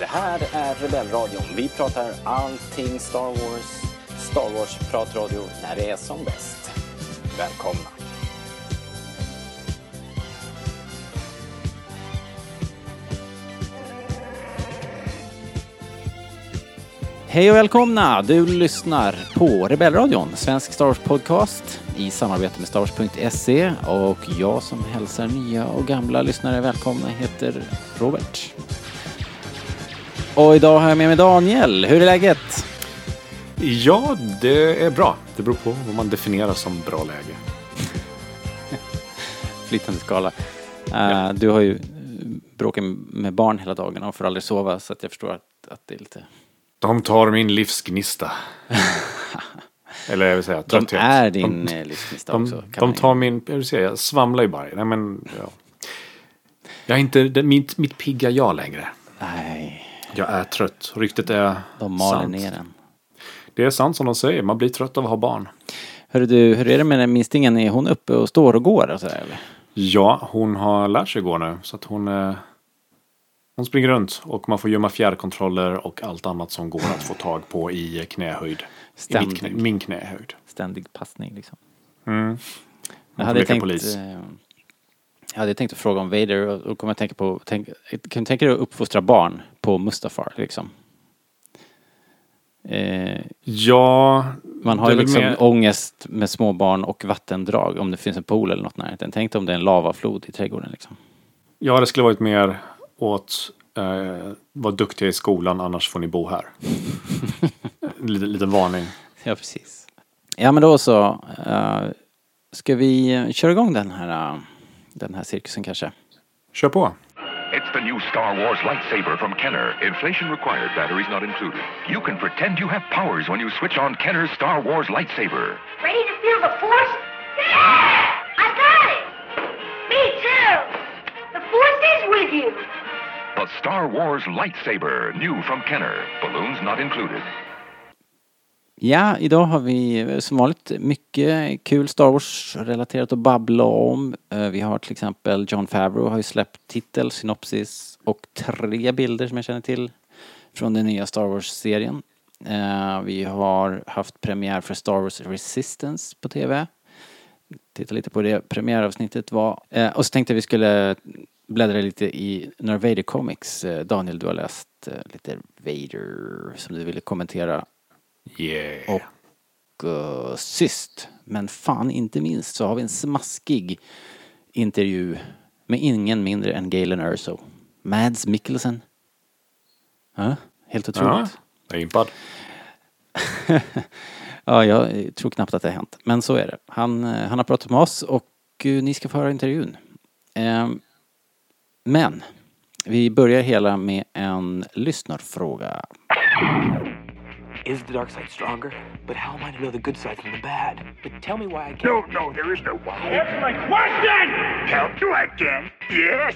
här är Rebellradion. Vi pratar allting Star Wars. Star Wars-pratradio när det är som bäst. Välkomna. Hej och välkomna! Du lyssnar på Rebellradion, svensk Star Wars-podcast i samarbete med StarWars.se. Och jag som hälsar nya och gamla lyssnare välkomna heter Robert. Och idag har jag med mig Daniel. Hur är läget? Ja, det är bra. Det beror på vad man definierar som bra läge. Flytande skala. Du har ju bråkat med barn hela dagen och får aldrig sova, så att jag förstår att det är lite... De tar min livsgnista. Eller jag vill säga trötthet. De är din livsgnista också. De tar min... Jag vill säga, jag svamlar ju bara. Nej, men... Ja. Jag är inte mitt pigga jag längre. Nej. Jag är trött. Ryktet är de maler sant. ner den. Det är sant som de säger. Man blir trött av att ha barn. Hörru du, hur är det med den minstingen? Är hon uppe och står och går? Och så där, eller? Ja, hon har lärt sig gå nu. Så att hon springer runt. Och man får gömma fjärrkontroller och allt annat som går att få tag på i knähöjd. I min knähöjd. Ständig passning liksom. Mm. Jag hade tänkt att fråga om Vader och kommer att tänka på... Kan du tänka dig att uppfostra barn på Mustafar liksom? Ja... Man har ju liksom ångest med små barn och vattendrag om det finns en pool eller något närheten. Tänk om det är en lavaflod i trädgården liksom. Ja, det skulle varit mer åt var duktiga i skolan, annars får ni bo här. lite varning. Ja, precis. Ja, men då så ska vi köra igång den här cirkusen kanske. Kör på. It's the new Star Wars lightsaber from Kenner. Inflation required, batteries not included. You can pretend you have powers when you switch on Kenner's Star Wars lightsaber. Ready to feel the Force? Yeah! I got it! Me too! The Force is with you! The Star Wars lightsaber, new from Kenner. Balloons not included. Ja, idag har vi som vanligt mycket kul Star Wars-relaterat att babbla om. Vi har till exempel Jon Favreau har ju släppt titel, synopsis och 3 bilder som jag känner till från den nya Star Wars-serien. Vi har haft premiär för Star Wars Resistance på TV. Titta lite på det premiäravsnittet var. Och så tänkte vi skulle bläddra lite i några Vader Comics. Daniel, du har läst lite Vader som du ville kommentera. Yeah. Och sist, men fan inte minst, så har vi en smaskig intervju med ingen mindre än Galen Erso. Mads Mikkelsen. Ja, helt otroligt. Ja, jag är impad. Ja, jag tror knappt att det har hänt. Men så är det. Han har pratat med oss och ni ska få höra intervjun. Men vi börjar hela med en lyssnarfråga. Is the dark side stronger? But how am I to know the good side from the bad? But tell me why I can't... No, there is no why. Answer my question! Help you again? Yes.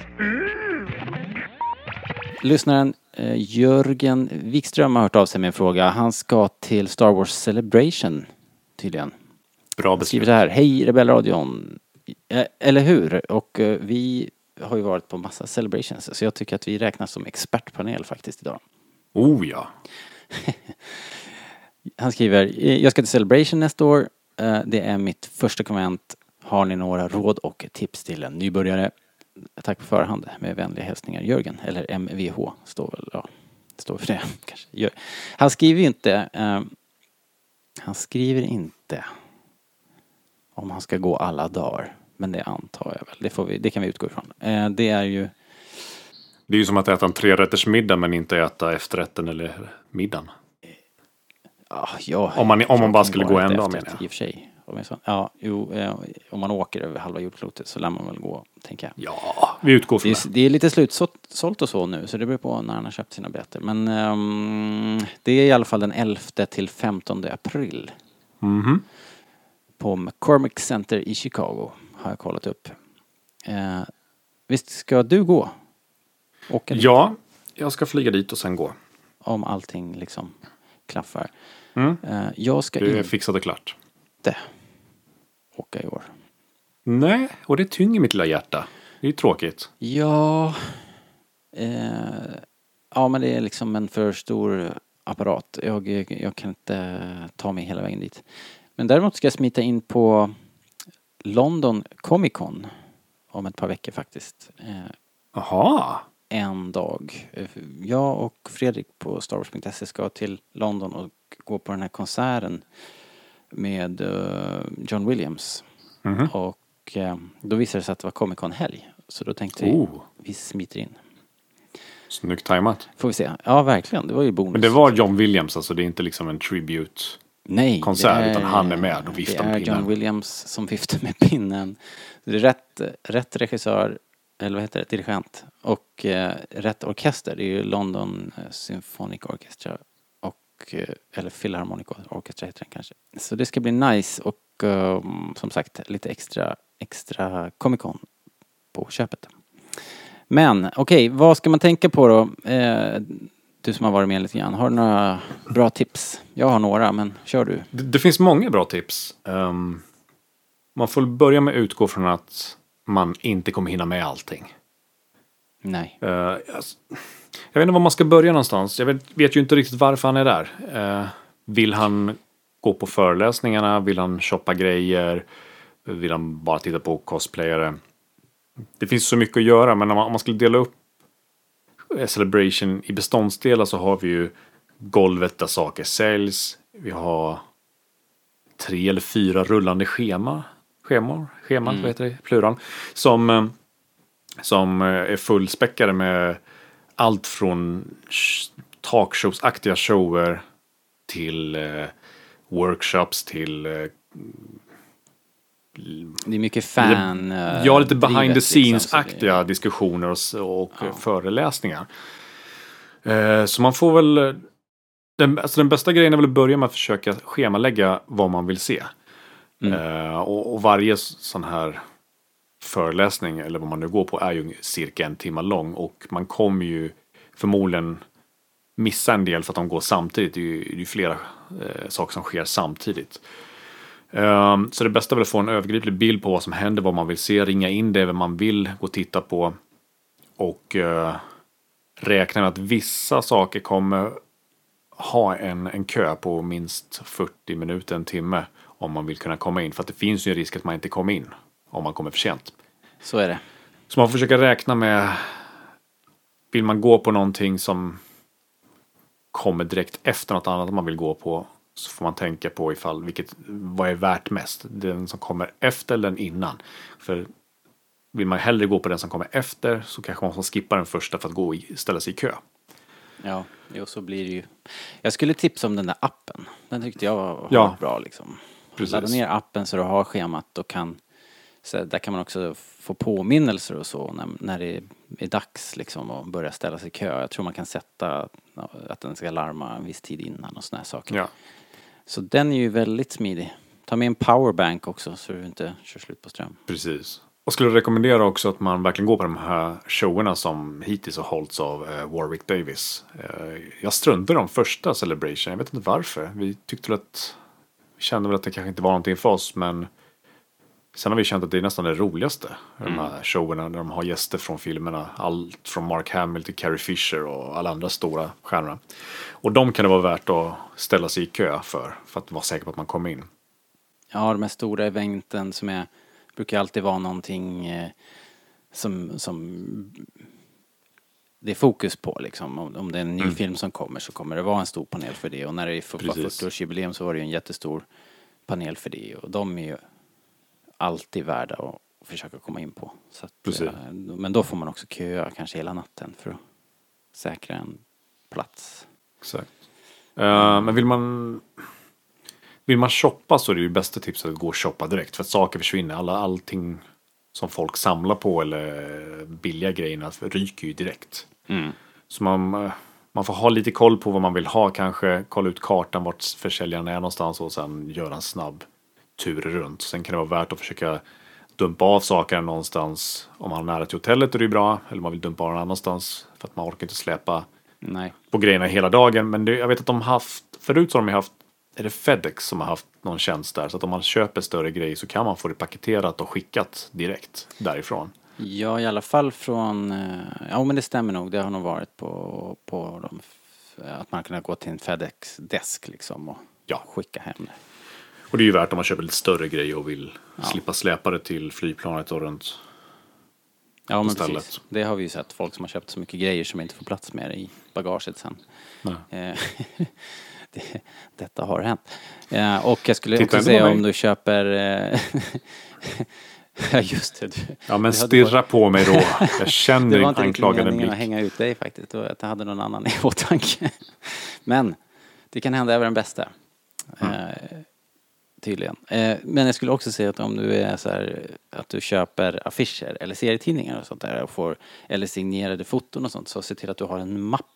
Lyssnaren Jörgen Wikström har hört av sig med en fråga. Han ska till Star Wars Celebration tydligen. Bra beslut. Skriver så här: hej Rebellradion. Eller hur? Och vi har ju varit på massa celebrations, så jag tycker att vi räknas som expertpanel faktiskt idag. Oh ja. Han skriver: jag ska till Celebration nästa år. Det är mitt första konvent. Har ni några råd och tips till en nybörjare? Tack på förhand. Med vänliga hälsningar Jörgen. Eller MVH står för det kanske. Han skriver ju inte om han ska gå alla dagar. Men det antar jag väl. Det kan vi utgå ifrån. Det är ju som att äta en 3-rätters middag men inte äta efterrätten eller middagen. Ja, om man bara skulle gå en dag, menar jag. I och för sig. Om man åker över halva jordklotet så lär man väl gå, tänker jag. Ja, vi utgår från det är lite slutsålt och så nu, så det beror på när han har köpt sina biljetter. Men det är i alla fall den 11 till 15 april. Mhm. På McCormick Center i Chicago har jag kollat upp. Visst ska du gå? Ja, jag ska flyga dit och sen gå. Om allting liksom klaffar. Jag ska det är fixat och klart. Åka i år. Nej, och det tynger mitt lilla hjärta. Det är tråkigt. Ja. Ja, men det är liksom en för stor apparat. Jag kan inte ta mig hela vägen dit. Men däremot ska jag smita in på London Comic Con om ett par veckor faktiskt. Jaha. En dag. Jag och Fredrik på StarWars.se ska till London och gå på den här konserten med John Williams. Mhm. Och då visade det sig att det var Comic Con-helg. Så då tänkte vi smiter in. Snyggt tajmat. Får vi se. Ja, verkligen. Det var ju bonus. Men det var John Williams, alltså det är inte liksom en tribute-konsert, Nej, utan han är med och viftar med Det är pinnen. John Williams som viftar med pinnen. Det är rätt regissör, eller vad heter det, dirigent. Och rätt orkester. Det är ju London Symphonic Orchestra. Eller Philharmonic Orchestra heter den kanske. Så det ska bli nice och som sagt lite extra Comic Con på köpet. Men okej, vad ska man tänka på då? Du som har varit med lite grann. Har du några bra tips? Jag har några, men kör du. Det finns många bra tips. Man får börja med att utgå från att man inte kommer hinna med allting. Nej. Jag vet inte var man ska börja någonstans. Jag vet ju inte riktigt varför han är där. Vill han gå på föreläsningarna? Vill han shoppa grejer? Vill han bara titta på cosplayare? Det finns så mycket att göra, men om man skulle dela upp Celebration i beståndsdelar så har vi ju golvet där saker säljs. Vi har 3 eller 4 rullande schemar, vad heter det? Plural. Som är fullspäckade med allt från talkshowsaktiga shower till workshops till Det är mycket fan. lite behind the scenes-aktiga liksom, diskussioner och föreläsningar. Så man får väl den bästa grejen är väl att börja med att försöka schemalägga vad man vill se. Och varje sån här föreläsning eller vad man nu går på är ju cirka 1 timme lång och man kommer ju förmodligen missa en del för att de går samtidigt. Det är ju flera saker som sker samtidigt. Så det bästa är väl att få en övergriplig bild på vad som händer, vad man vill se, ringa in det, vad man vill gå och titta på och räkna med att vissa saker kommer ha en kö på minst 40 minuter, 1 timme om man vill kunna komma in. För att det finns ju en risk att man inte kommer in om man kommer för sent. Så är det. Så man får försöka räkna med, vill man gå på någonting som kommer direkt efter något annat man vill gå på, så får man tänka på vad är värt mest. Den som kommer efter eller den innan. För vill man hellre gå på den som kommer efter så kanske man får skippa den första för att ställa sig i kö. Ja, så blir det ju. Jag skulle tipsa om den där appen. Den tyckte jag var bra liksom. Precis. Ladda ner appen så du har schemat och där kan man också få påminnelser och så när det är dags liksom att börja ställa sig i kö. Jag tror man kan sätta att den ska larma en viss tid innan och såna här saker. Ja. Så den är ju väldigt smidig. Ta med en powerbank också så du inte kör slut på ström. Precis. Och skulle rekommendera också att man verkligen går på de här showerna som hittills har hållits av Warwick Davis. Jag struntade i de första Celebration. Jag vet inte varför. Vi kände väl att det kanske inte var någonting för oss, men sen har vi känt att det är nästan det roligaste. De här showerna där de har gäster från filmerna. Allt från Mark Hamill till Carrie Fisher och alla andra stora stjärnor. Och de kan det vara värt att ställa sig i kö för att vara säker på att man kommer in. Ja, de här stora eventen brukar alltid vara någonting som det är fokus på liksom. Om det är en ny film som kommer så kommer det vara en stor panel för det. Och när det är 40-årsjubileum så var det ju en jättestor panel för det. Och de är ju alltid värda att försöka komma in på. Så att, men då får man också köa kanske hela natten för att säkra en plats. Exakt. Men vill man shoppa så är det ju bästa tipset att gå och shoppa direkt. För att saker försvinner. Allting som folk samlar på eller billiga grejerna ryker ju direkt. Så man får ha lite koll på vad man vill ha kanske. Kolla ut kartan vart försäljaren är någonstans och sen göra en snabb tur runt. Sen kan det vara värt att försöka dumpa av saker någonstans. Om man har nära till hotellet är det bra. Eller man vill dumpa av någon annanstans för att man orkar inte släpa på grejerna hela dagen. Men jag vet att förut så har de haft, är det FedEx som har haft någon tjänst där. Så att om man köper större grejer så kan man få det paketerat och skickat direkt därifrån. Ja, i alla fall från... Ja, men det stämmer nog. Det har nog varit på de... Att man kan gå till en FedEx-desk liksom och skicka hem det. Och det är ju värt om man köper lite större grejer och vill slippa släpa det till flygplanet och runt. Ja, men istället. precis. Det har vi ju sett. Folk som har köpt så mycket grejer som inte får plats med det i bagaget sen. Detta har hänt. Och jag skulle också säga om du köper... Ja, just det. Ja, men stirra på mig då. Jag känner en anklagande blick. Det var inte att hänga ut dig faktiskt. Att jag hade någon annan i åtanke. Men det kan hända även den bästa. Tydligen. Men jag skulle också säga att om du är så här, att du köper affischer eller serietidningar och sånt där och får, eller signerade foton och sånt, så se till att du har en mapp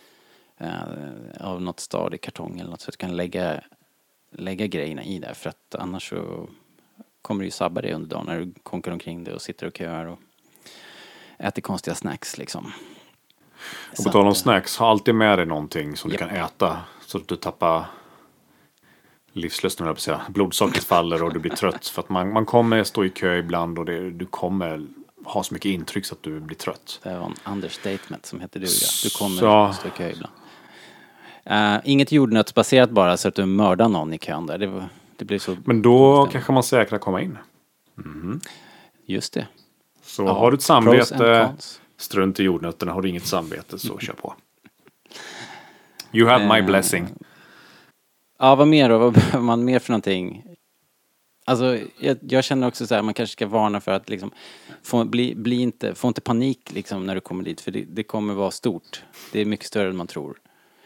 av något stadig kartong eller något, så att du kan lägga grejerna i där, för att annars så kommer du ju sabba det under dagen när du konkar omkring det och sitter och köar och äter konstiga snacks liksom. Och på tal om snacks, ha alltid med dig någonting som du kan äta så att du tappar livslusten, jag vill säga. Blodsockret faller och du blir trött. För att man kommer stå i kö ibland och du kommer ha så mycket intryck så att du blir trött. Det var en understatement som heter duga. Du kommer stå i kö ibland. Inget jordnötsbaserat bara så att du mördar någon i kön där. Det blir så. Men då kanske man säkrar komma in. Just det. Så har du ett samvete, strunt i jordnötterna. Har du inget samvete så kör på. You have my blessing. Ja, vad mer då? Vad behöver man mer för någonting? Alltså, jag känner också så här, man kanske ska varna för att liksom, få inte panik liksom när du kommer dit, för det kommer vara stort. Det är mycket större än man tror.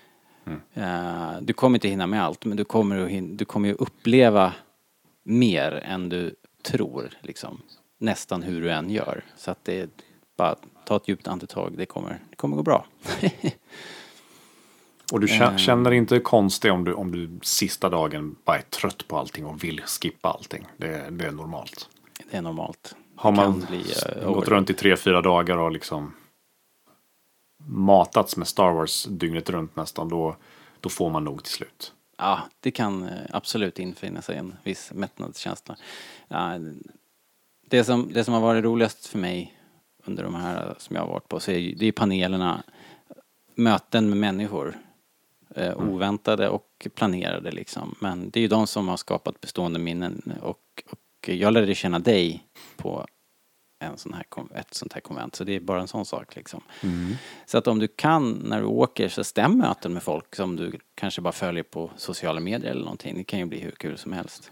Du kommer inte hinna med allt, men du kommer ju uppleva mer än du tror liksom. Nästan hur du än gör. Så att det är bara ta ett djupt andetag, det kommer gå bra. Och du känner inte konstigt om du sista dagen bara är trött på allting och vill skippa allting. Det är normalt. Det är normalt. Har man gått runt i 3-4 dagar och liksom matats med Star Wars dygnet runt nästan, då får man nog till slut. Ja, det kan absolut infinna sig en viss mättnadskänsla. Ja, det som har varit roligast för mig under de här som jag har varit på, så det är panelerna, möten med människor. Oväntade och planerade liksom. Men det är ju de som har skapat bestående minnen, och jag lärde känna dig på ett sånt här konvent, så det är bara en sån sak liksom. Så att om du kan, när du åker, så stäm möten med folk som du kanske bara följer på sociala medier eller någonting. Det kan ju bli hur kul som helst.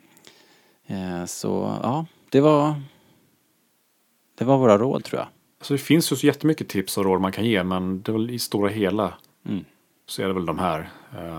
Så ja, det var våra råd, tror jag. Alltså det finns ju så jättemycket tips och råd man kan ge, men det är väl i stora hela så är det väl de här.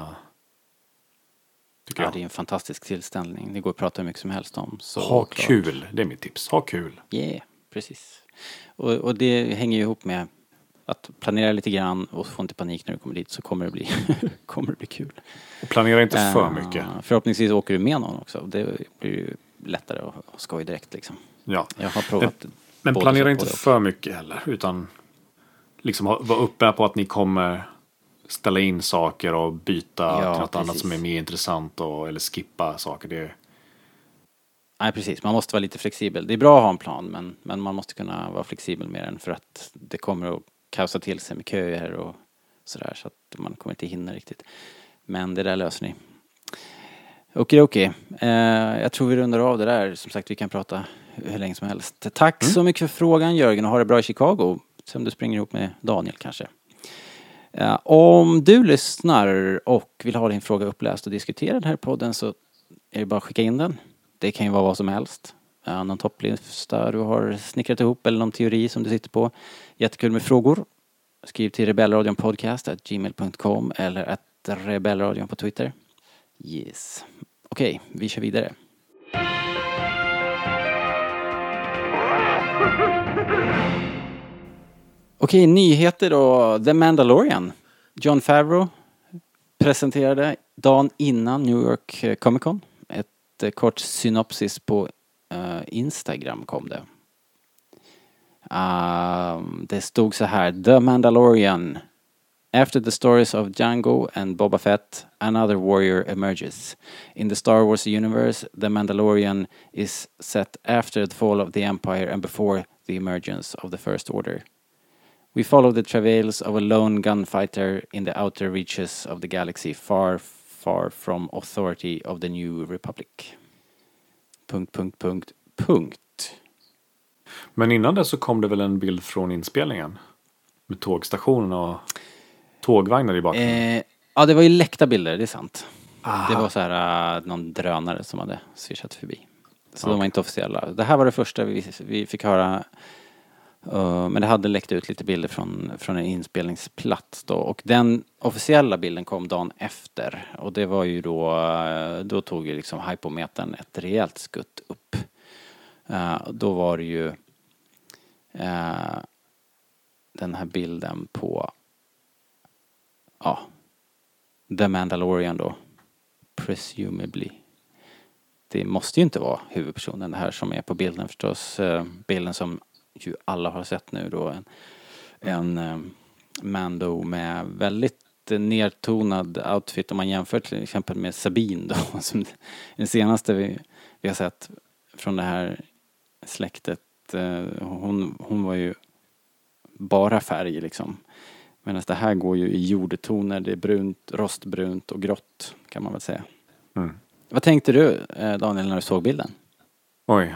Tycker jag. Det är en fantastisk tillställning. Det går att prata hur mycket som helst om. Så ha kul, det är mitt tips. Ha kul. Yeah, precis. Och det hänger ju ihop med att planera lite grann och få inte panik när du kommer dit, så kommer det bli kul. Och planera inte för mycket. Förhoppningsvis åker du med någon också. Det blir ju lättare att skoj direkt liksom. Ja. Jag har provat. Men planera inte för mycket heller, utan liksom vara uppe på att ni kommer ställa in saker och byta till något annat som är mer intressant, eller skippa saker. Nej, precis. Man måste vara lite flexibel. Det är bra att ha en plan, men man måste kunna vara flexibel med den, för att det kommer att kaosa till sig med köer och sådär, så att man kommer inte hinna riktigt. Men det där löser ni. Okej. Jag tror vi rundar av det där. Som sagt, vi kan prata hur länge som helst. Tack så mycket för frågan, Jörgen, och ha det bra i Chicago. Som du springer ihop med Daniel kanske. Om du lyssnar och vill ha din fråga uppläst och diskuterad här i podden, så är det bara att skicka in den. Det kan ju vara vad som helst. Någon topplista du har snickrat ihop eller någon teori som du sitter på. Jättekul med frågor. Skriv till rebellradionpodcast@gmail.com eller @rebellradion på Twitter. Yes. Okej, vi kör vidare. Okej, nyheter då. The Mandalorian. Jon Favreau presenterade dagen innan New York Comic Con. Ett kort synopsis på Instagram kom det. Det stod så här: The Mandalorian. After the stories of Django and Boba Fett, another warrior emerges. In the Star Wars universe, The Mandalorian is set after the fall of the Empire and before the emergence of the First Order. We follow the travails of a lone gunfighter in the outer reaches of the galaxy, far, far from authority of the New Republic. ... Men innan det så kom det väl en bild från inspelningen? Med tågstationen och tågvagnar i bakgrunden. Ja, det var ju läckta bilder, det är sant. Aha. Det var så här någon drönare som hade swishat förbi. Så de var inte officiella. Det här var det första vi fick höra. Men det hade läckt ut lite bilder från en inspelningsplats då. Och den officiella bilden kom dagen efter. Och det var ju då tog ju liksom hypometern ett rejält skutt upp. Då var det ju den här bilden på The Mandalorian då. Presumably. Det måste ju inte vara huvudpersonen det här som är på bilden förstås. Bilden som ju alla har sett nu då. En Mando med väldigt nedtonad outfit om man jämför till exempel med Sabine då. Som den senaste vi har sett från det här släktet. Hon var ju bara färg liksom. Medan det här går ju i jordtoner. Det är brunt, rostbrunt och grått kan man väl säga. Mm. Vad tänkte du, Daniel, när du såg bilden? Oj.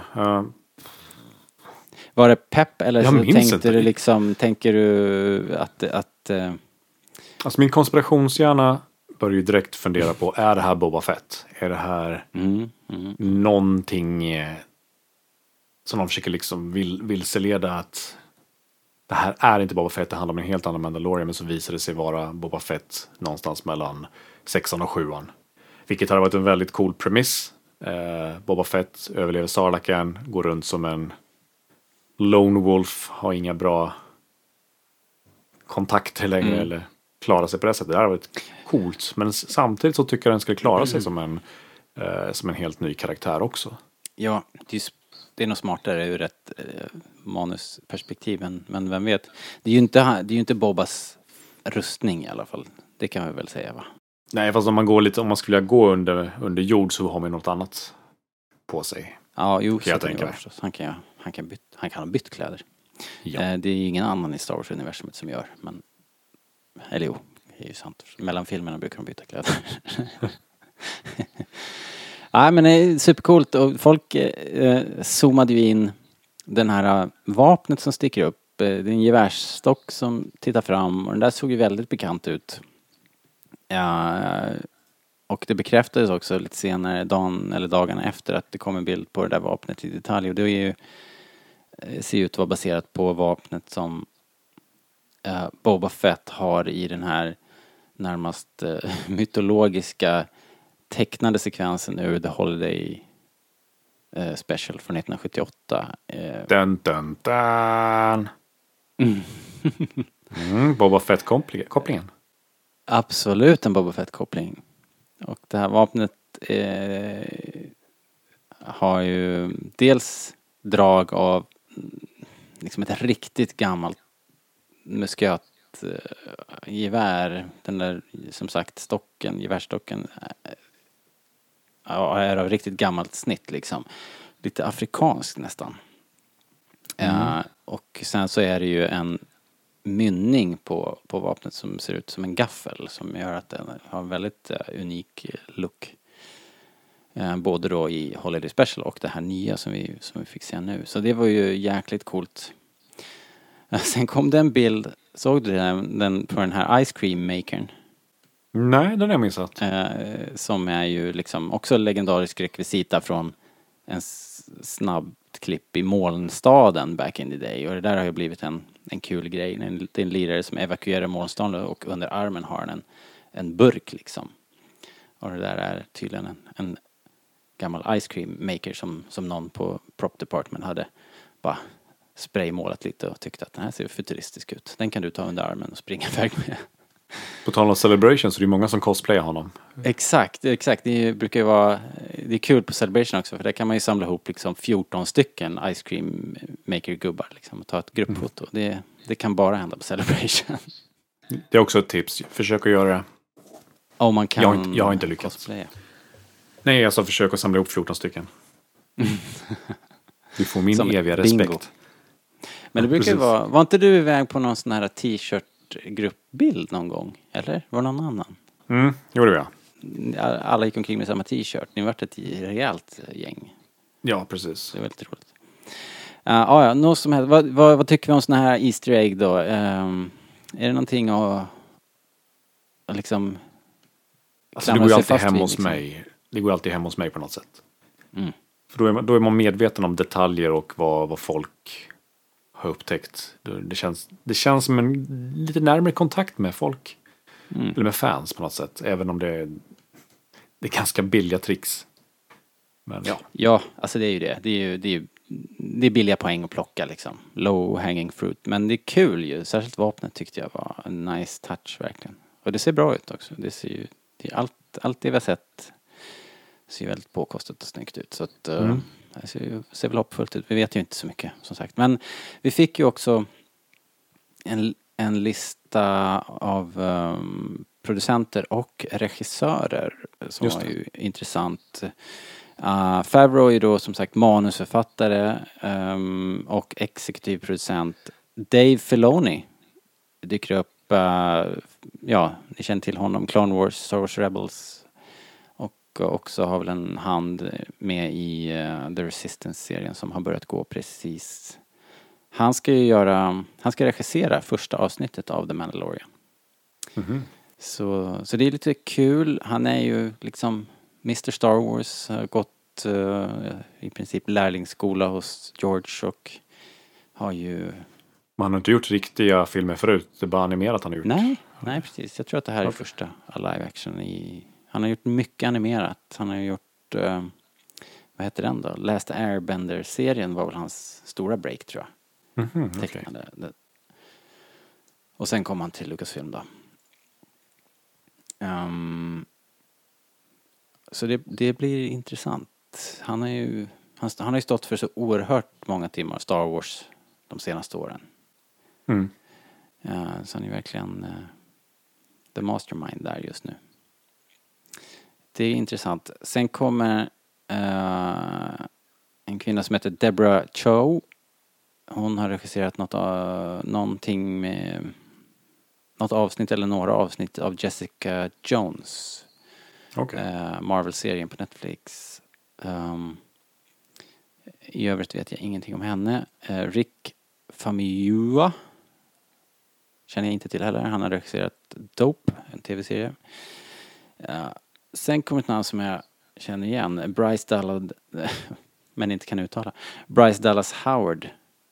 Var det pepp eller Jag så minns tänkte inte. du liksom, tänker du att Alltså min konspirationshjärna börjar ju direkt fundera på, är det här Boba Fett? Är det här någonting som de försöker liksom vilseleda att det här är inte Boba Fett, det handlar om en helt annan Mandalorian, men så visar det sig vara Boba Fett någonstans mellan 6:an och 7:an. Vilket hade varit en väldigt cool premiss. Boba Fett överlever Sarlacan, går runt som en lone wolf, har inga bra kontakter längre eller klarar sig på det sättet. Det hade varit coolt, men samtidigt så tycker jag den skulle klara sig som en helt ny karaktär också. ja, det är nog smartare ur ett manusperspektiv, men vem vet. Det är ju inte Bobas rustning i alla fall. Det kan vi väl säga, va? Nej, fast om man skulle gå under jord så har man något annat på sig. Ja, jo, jag så tänker. förstås. Han kan ha bytt kläder. Ja. Det är ju ingen annan i Star Wars-universumet som gör, men eller jo, det är ju sant. Mellan filmerna brukar de byta kläder. Nej, men det är supercoolt och folk zoomade ju in den här vapnet som sticker upp. Det är en gevärsstock som tittar fram och den där såg ju väldigt bekant ut. Och det bekräftades också lite senare, dagarna efter, att det kom en bild på det där vapnet i detalj. Och det är ju, ser ut att vara baserat på vapnet som Boba Fett har i den här närmast mytologiska tecknade sekvensen ur The Holiday Special från 1978. Dun, dun, dun. Boba Fett-kopplingen. Absolut en Boba Fett-koppling. Och det här vapnet har ju dels drag av liksom ett riktigt gammalt muskötgevär. Den där, som sagt, gevärsstocken är av riktigt gammalt snitt liksom. Lite afrikanskt nästan. Och sen så är det ju en mynning på vapnet som ser ut som en gaffel som gör att den har en väldigt unik look. Både då i Holiday Special och det här nya som vi fick se nu. Så det var ju jäkligt coolt. Sen kom det en bild, såg du den på den här Ice Cream Makern? Nej, den har jag missat. Som är ju liksom också legendarisk rekvisita från en snabb klipp i molnstaden back in the day. Och det där har ju blivit en kul grej. Det är en lirare som evakuerar molnstaden och under armen har han en burk liksom. Och det där är tydligen en gammal ice cream maker som någon på prop department hade bara spraymålat lite och tyckte att den här ser futuristisk ut. Den kan du ta under armen och springa iväg med. På tal om Celebration så är det många som cosplayar honom. Exakt. Det brukar ju vara, det är kul på Celebration också, för där kan man ju samla ihop liksom 14 stycken ice cream maker gubbar liksom och ta ett gruppfoto. Det kan bara hända på Celebration. Det är också ett tips. Försök att göra det. Om man kan. Jag har inte lyckats. Cosplaya. Nej, alltså försök att samla ihop 14 stycken. Du får min Som eviga bingo. respekt. Men det brukar ju Precis. var inte du iväg på någon sån här t-shirt-gruppbild någon gång? Eller? Var det någon annan? Jo, det var jag. Alla gick omkring med samma t-shirt. Ni vart ett rejält gäng. Ja, precis. Det var väldigt roligt. Ja, något som helst. Vad tycker vi om såna här Easter egg då? Är det någonting att liksom Alltså, det går ju alltid hem hos liksom? mig. Det går alltid hem hos mig på något sätt. Mm. För då är man medveten om detaljer och vad folk har upptäckt. Det känns som en lite närmare kontakt med folk. Eller med fans på något sätt. Även om det är ganska billiga tricks. Men Ja, alltså det är ju det. Det är billiga poäng att plocka liksom. Low hanging fruit. Men det är kul ju. Särskilt vapnet tyckte jag var en nice touch verkligen. Och det ser bra ut också. Det ser ju, allt det vi har sett ser väldigt påkostat och snyggt ut. Så att det ser väl hoppfullt ut. Vi vet ju inte så mycket som sagt. Men vi fick ju också en lista av producenter och regissörer som var ju intressant. Favreau är ju då som sagt manusförfattare och exekutiv producent. Dave Filoni dyker upp, ni känner till honom, Clone Wars, Star Wars Rebels, och också har väl en hand med i The Resistance-serien som har börjat gå precis. Han ska regissera första avsnittet av The Mandalorian. Så det är lite kul. Han är ju liksom Mr. Star Wars, har gått i princip lärlingsskola hos George och har ju... Man har inte gjort riktiga filmer förut, det är bara animerat han har gjort. Nej, precis. Jag tror att det här är första live action han har gjort mycket animerat. Han har gjort, vad heter den då? Last Airbender-serien var väl hans stora break, tror jag. Tecknade. Okay. Och sen kom han till Lucasfilm då. Så det blir intressant. Han har ju stått för så oerhört många timmar Star Wars de senaste åren. Så han är verkligen the mastermind där just nu. Det är intressant. Sen kommer en kvinna som heter Deborah Chow. Hon har regisserat någonting med något avsnitt eller några avsnitt av Jessica Jones. Marvel-serien på Netflix. I övrigt vet jag ingenting om henne. Rick Famuyiwa känner jag inte till heller. Han har regisserat Dope, en tv-serie. Sen kommer ett namn som jag känner igen. Bryce Dallas, men inte kan uttala. Bryce Dallas Howard.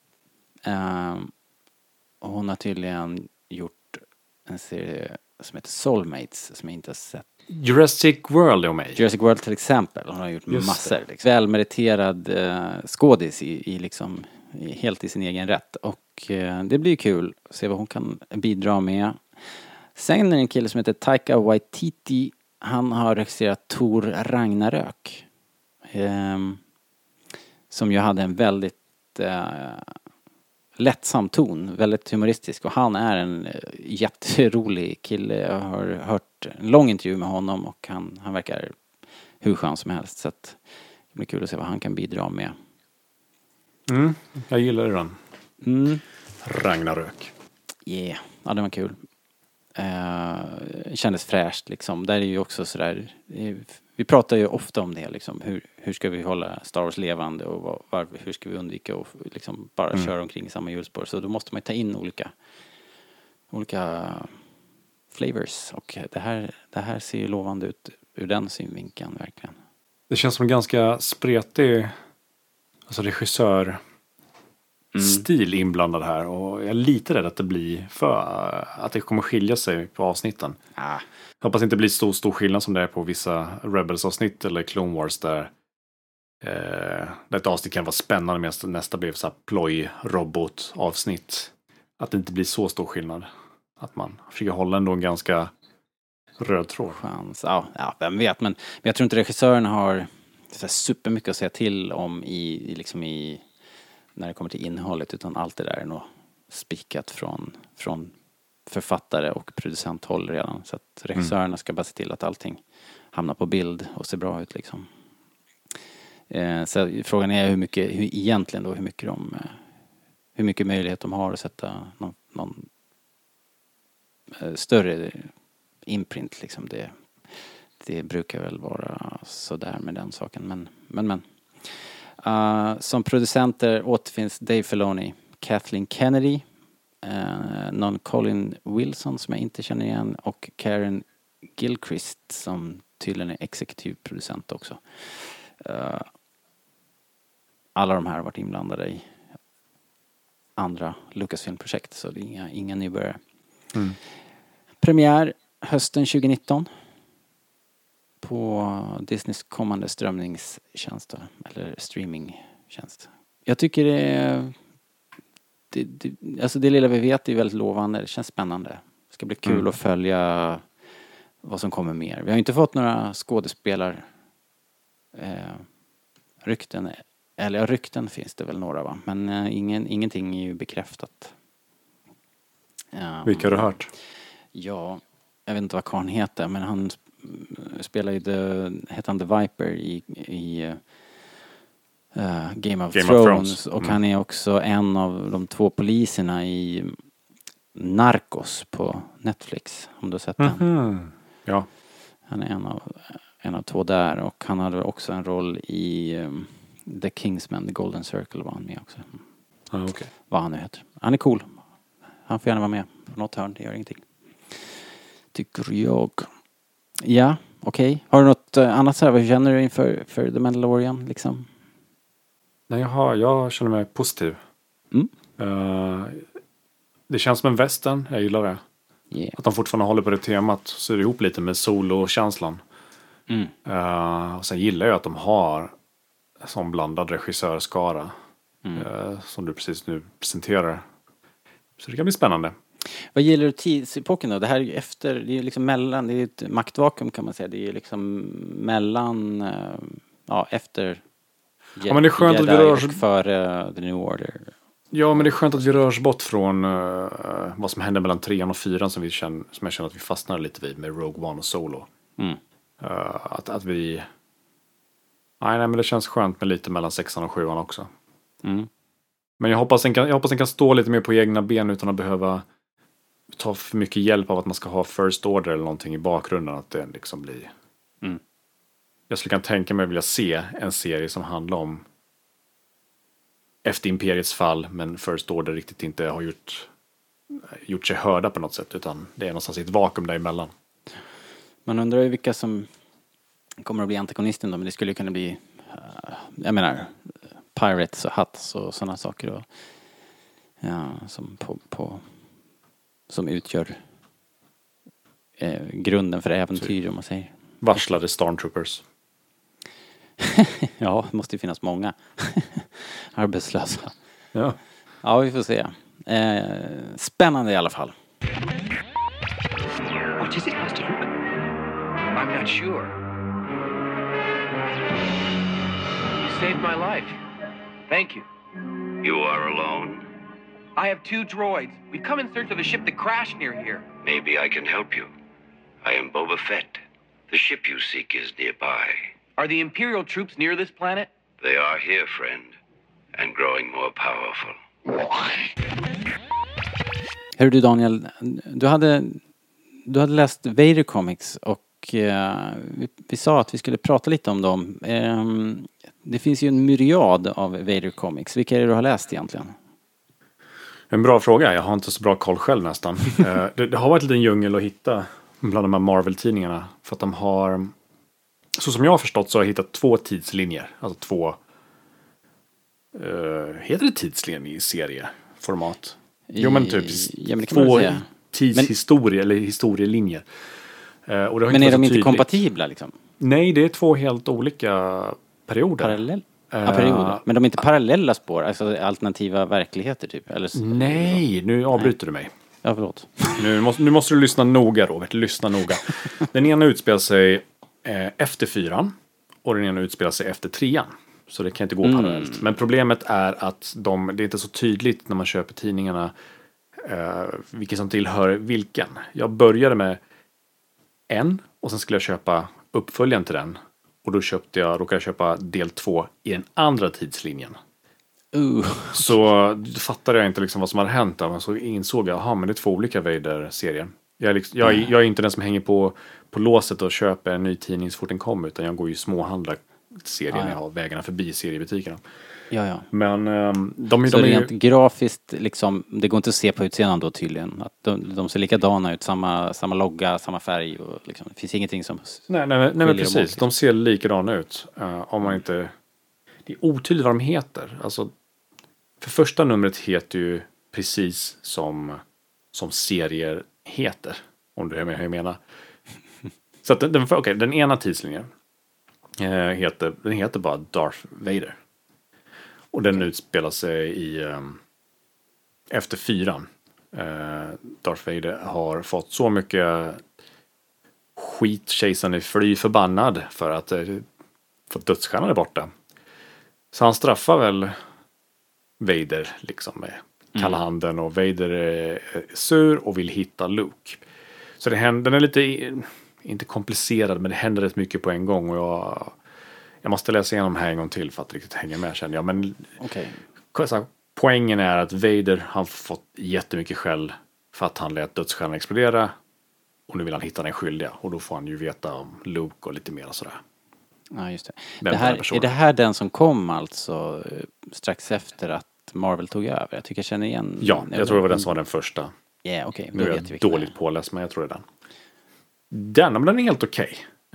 Och hon har tydligen gjort en serie som heter Soulmates som jag inte har sett. Jurassic World är med. Jurassic World till exempel. Hon har gjort massor. Liksom. Välmeriterad skådis helt i sin egen rätt. Och det blir kul att se vad hon kan bidra med. Sen är det en kille som heter Taika Waititi. Han har regisserat Thor Ragnarök. Som ju hade en väldigt lättsam ton. Väldigt humoristisk. Och han är en jätterolig kille. Jag har hört en lång intervju med honom. Och han verkar hur skön som helst. Så att det blir kul att se vad han kan bidra med. Jag gillar den. Ragnarök. Ja, det var kul. Kändes fräscht liksom. Där är ju också sådär, vi pratar ju ofta om det liksom, hur ska vi hålla Star Wars levande och hur ska vi undvika att liksom bara köra omkring i samma hjulspår. Så då måste man ju ta in olika flavors, och det här ser ju lovande ut ur den synvinkeln verkligen. Det känns som en ganska spretig regissör stil inblandad här, och jag är lite rädd att det blir att det kommer skilja sig på avsnitten. Jag hoppas inte det blir stor skillnad som det är på vissa Rebels-avsnitt eller Clone Wars där ett avsnitt kan vara spännande medan nästa blev så här ploj-robot-avsnitt. Att det inte blir så stor skillnad. Att man försöker hålla ändå en ganska röd tråd. Chans. Ja, vem vet, men jag tror inte regissören har så supermycket att säga till om i när det kommer till innehållet, utan allt det där är nog spikat från författare och producenthåll redan. Så att regissörerna ska bara se till att allting hamnar på bild och ser bra ut liksom. hur mycket möjlighet de har att sätta någon större imprint liksom. Det brukar väl vara sådär med den saken, men. Som producenter återfinns Dave Filoni, Kathleen Kennedy, någon Colin Wilson som jag inte känner igen och Karen Gilchrist som tydligen är exekutiv producent också. Alla de här har varit inblandade i andra Lucasfilm-projekt, så det är inga nybörjare. Premiär hösten 2019 på Disneys kommande strömningstjänst eller streamingtjänst. Jag tycker alltså det lilla vi vet är väldigt lovande. Det känns spännande. Det ska bli kul att följa vad som kommer mer. Vi har inte fått några rykten. Eller rykten finns det väl några, va? Men ingenting är ju bekräftat. Vilka har du hört? Ja, jag vet inte vad karln heter, men han spelar ju heter han The Viper i Game of Thrones. Och han är också en av de 2 poliserna i Narcos på Netflix, om du har sett den. Ja. Han är en av 2 där, och han hade också en roll i The Kingsman, The Golden Circle var han med också. Okay. Vad han nu heter. Han är cool. Han får gärna vara med på något hörn, det gör ingenting. Tycker jag. Ja, okej. Har du något annat så här, vad känner du inför för The Mandalorian liksom? Nej, jag känner mig positiv. Det känns som en western, jag gillar det. Yeah. Att de fortfarande håller på det temat, så är det ihop lite med solo-känslan. Och sen gillar jag att de har en sån blandad regissörskara som du precis nu presenterar. Så det kan bli spännande. Vad gäller du tidsepoken då? Det här är ju efter, det är liksom mellan, det är ett maktvakuum kan man säga. Det är liksom mellan, efter men det är skönt att vi rör oss före The New Order. Ja, men det är skönt att vi rör oss bort från vad som hände mellan 3 och 4 som jag känner att vi fastnar lite vid med Rogue One och Solo. Att vi... Nej, men det känns skönt med lite mellan 6 och 7 också. Men jag hoppas den kan stå lite mer på egna ben utan att behöva ta för mycket hjälp av att man ska ha First Order eller någonting i bakgrunden. Att det liksom blir... Jag skulle kunna tänka mig att vilja se en serie som handlar om efter Imperiets fall, men First Order riktigt inte har gjort sig hörda på något sätt, utan det är någonstans i ett vakuum däremellan. Man undrar ju vilka som kommer att bli antagonisten då, men det skulle ju kunna bli jag menar Pirates och Hutts och sådana saker då, som utgör grunden för äventyr, om man säger. Varslade Stormtroopers. Ja, det måste ju finnas många arbetslösa. Ja. Ja, vi får se. Spännande i alla fall. What is it, Master Luke? I'm not sure. You saved my life. Thank you. You are alone? I have 2 droids. We've come in search of the ship that crashed near here. Maybe I can help you. I am Boba Fett. The ship you seek is nearby. Are the Imperial troops near this planet? They are here, friend, and growing more powerful. Hör du Daniel, du hade läst Vader Comics och vi sa att vi skulle prata lite om dem. Det finns ju en myriad av Vader Comics. Vilka är det du har läst egentligen? En bra fråga. Jag har inte så bra koll själv nästan. Det har varit en liten djungel att hitta bland de här Marvel-tidningarna. För att de har, så som jag har förstått, så har jag hittat 2 tidslinjer. Alltså 2, heter det tidslinjer i serieformat? Jo, men typ men 2 tidshistorier eller historielinjer. Och det har men inte är de inte tydligt. Kompatibla liksom? Nej, det är 2 helt olika perioder. Perioder. Men de är inte parallella spår, alltså alternativa verkligheter typ? Eller nej, nu avbryter du mig. Ja, förlåt. Nu måste du lyssna noga, Robert. Lyssna noga. Den ena utspelar sig efter 4 och den ena utspelar sig efter 3. Så det kan inte gå parallellt. Men problemet är att det är inte så tydligt när man köper tidningarna vilken som tillhör vilken. Jag började med en och sen skulle jag köpa uppföljaren till den. Och då råkade jag köpa del 2 i den andra tidslinjen. Så fattade jag inte liksom vad som hade hänt där. Men så insåg jag, men det är 2 olika Vader-serier. Jag är inte den som hänger på låset och köper en ny tidning så fort den kommer. Utan jag går ju småhandlar serien när jag har vägarna förbi seriebutikerna. Ja. Men så rent grafiskt, liksom, det går inte att se på utsidan då tydligen. Att de ser likadana ut, samma logga, samma färg. Och liksom, det finns ingenting som... Nej men precis. De ser likadana ut. Om man inte... Det är otydligt vad de heter. Alltså, för första numret heter ju precis som serier heter. Om du är med hur jag menar. Så att den ena tidslinjen heter bara Darth Vader. Och den utspelar sig efter 4. Darth Vader har fått så mycket skit, kejsaren är fly förbannad för att få dödsstjärnan är borta. Så han straffar väl Vader liksom med kalla handen, och Vader är sur och vill hitta Luke. Så den är lite, inte komplicerad, men det händer rätt mycket på en gång, och jag måste läsa igenom här en gång till för att riktigt hänga med, känner jag. Men poängen är att Vader har fått jättemycket skäll för att han lät dödsstjärnan explodera, och nu vill han hitta den skyldiga, och då får han ju veta om Luke och lite mer och sådär. Ja, just det. Är det här den som kom alltså strax efter att Marvel tog över? Jag tycker jag känner igen. Ja, jag tror det var den som var den första. Ja, okej. Nu är jag dåligt påläst, men jag tror det är den. Men den är helt okej.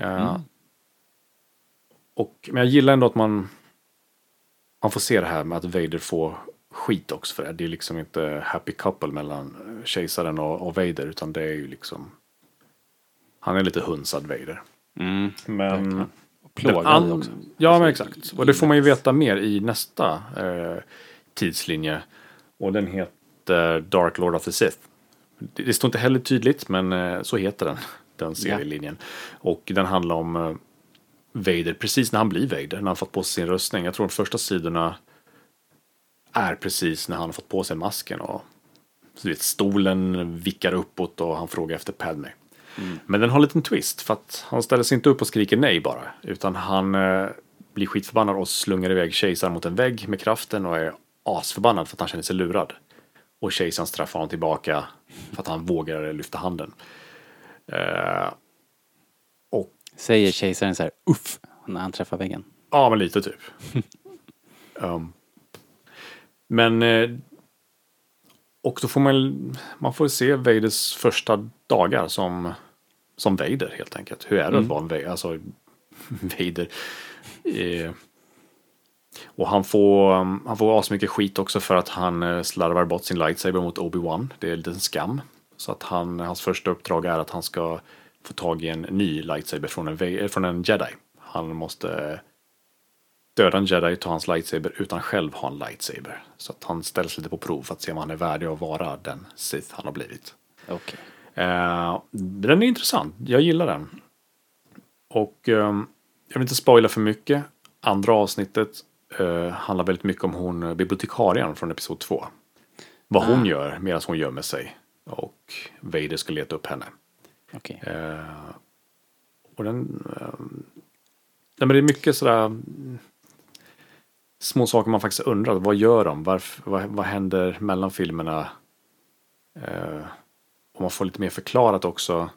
Men jag gillar ändå att man får se det här med att Vader får skit också för det. Det är liksom inte happy couple mellan kejsaren och Vader, utan det är ju liksom, han är lite hunsad Vader. Men plågad också. Ja, men exakt. Och det får man ju veta mer i nästa tidslinje. Och den heter Dark Lord of the Sith. Det står inte heller tydligt, men så heter den serielinjen. Och den handlar om Vader precis när han blir Vader, när han fått på sig sin rustning. Jag tror de första sidorna är precis när han har fått på sig masken, och så vet, stolen vickar uppåt och han frågar efter Padme. Men den har en liten twist, för att han ställer sig inte upp och skriker nej bara, utan han blir skitförbannad och slungar iväg kejsaren mot en vägg med kraften och är asförbannad för att han känner sig lurad. Och kejsaren straffar honom tillbaka för att han vågar lyfta handen. Och säger kejsaren så här uff när han träffar väggen? Ja, men lite typ. Men och då får man får se Vaders första dagar som Vader helt enkelt. Hur är det att vara en Vader? Alltså Vader. Och han får asmycket skit också för att han slarvar bort sin lightsaber mot Obi-Wan. Det är lite en skam. Så att hans första uppdrag är att han ska få tag i en ny lightsaber från en jedi. Han måste döda en jedi, ta hans lightsaber utan själv ha en lightsaber. Så att han ställs lite på prov för att se om han är värdig att vara den Sith han har blivit. Okej. Den är intressant. Jag gillar den. Och jag vill inte spoila för mycket. Andra avsnittet handlar väldigt mycket om hon bibliotekarien från episod 2. Vad hon gör medan hon gömmer sig. Och Vader ska leta upp henne. Okej. Och men det är mycket sådär små saker man faktiskt undrar. Vad gör de? Vad händer mellan filmerna? Och man får lite mer förklarat också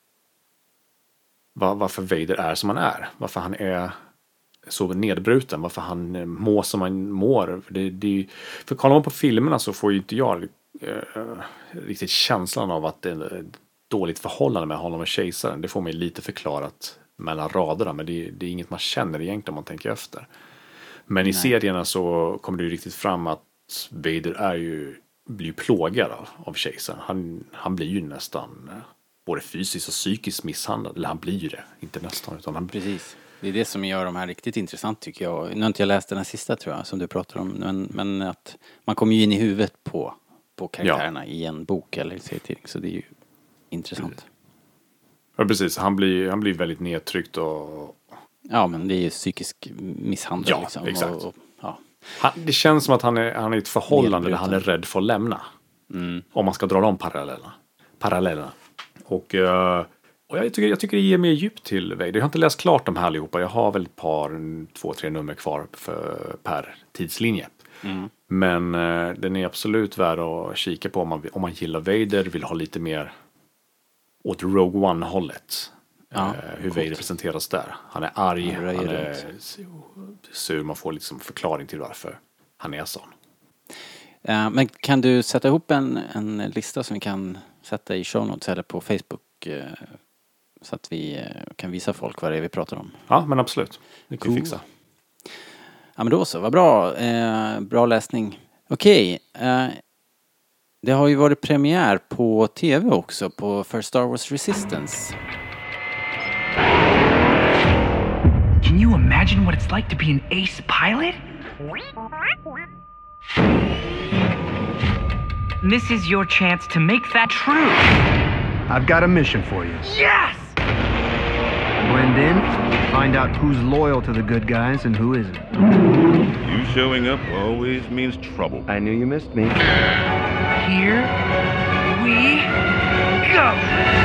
varför Vader är som han är. Varför han är så nedbruten. Varför han mår som han mår. För kollar man på filmerna så får ju inte jag riktigt känslan av att det är ett dåligt förhållande med honom och kejsaren. Det får mig lite förklarat mellan raderna. Men det är inget man känner egentligen om man tänker efter. Men i serierna så kommer det ju riktigt fram att Vader blir plågad av kejsaren. Han blir ju nästan både fysiskt och psykiskt misshandlad. Eller han blir ju det, inte nästan. Utan Precis. Det är det som gör de här riktigt intressant tycker jag. Nu har inte jag läst den här sista tror jag som du pratar om. Men att man kommer ju in i huvudet på karaktärerna i en bok eller serietidning. Så det är ju intressant. Ja, precis. Han blir väldigt nedtryckt och... Ja, men det är ju psykisk misshandel. Ja, liksom. exakt. Ja. Det känns som att han är i ett förhållande där han är rädd för att lämna. Om man ska dra de parallellerna. Och jag tycker det ger mer djup till Vader. Jag har inte läst klart de här allihopa. Jag har väl 2-3 nummer kvar per tidslinje. Men den är absolut värd att kika på om man gillar Vader, vill ha lite mer åt Rogue One-hållet. Hur Vader presenteras där. Han är arg, han är sur, man får liksom förklaring till varför han är sån. Men kan du sätta ihop en lista som vi kan sätta i show notes eller på Facebook så att vi kan visa folk vad det är vi pratar om? Ja, men absolut. Det kan vi fixa. Ja, men då så. Vad bra. Bra läsning. Okej. Det har ju varit premiär på TV också för Star Wars Resistance. Can you imagine what it's like to be an ace pilot? This is your chance to make that true. I've got a mission for you. Yes! Blend in, find out who's loyal to the good guys and who isn't. You showing up always means trouble. I knew you missed me. Here we go!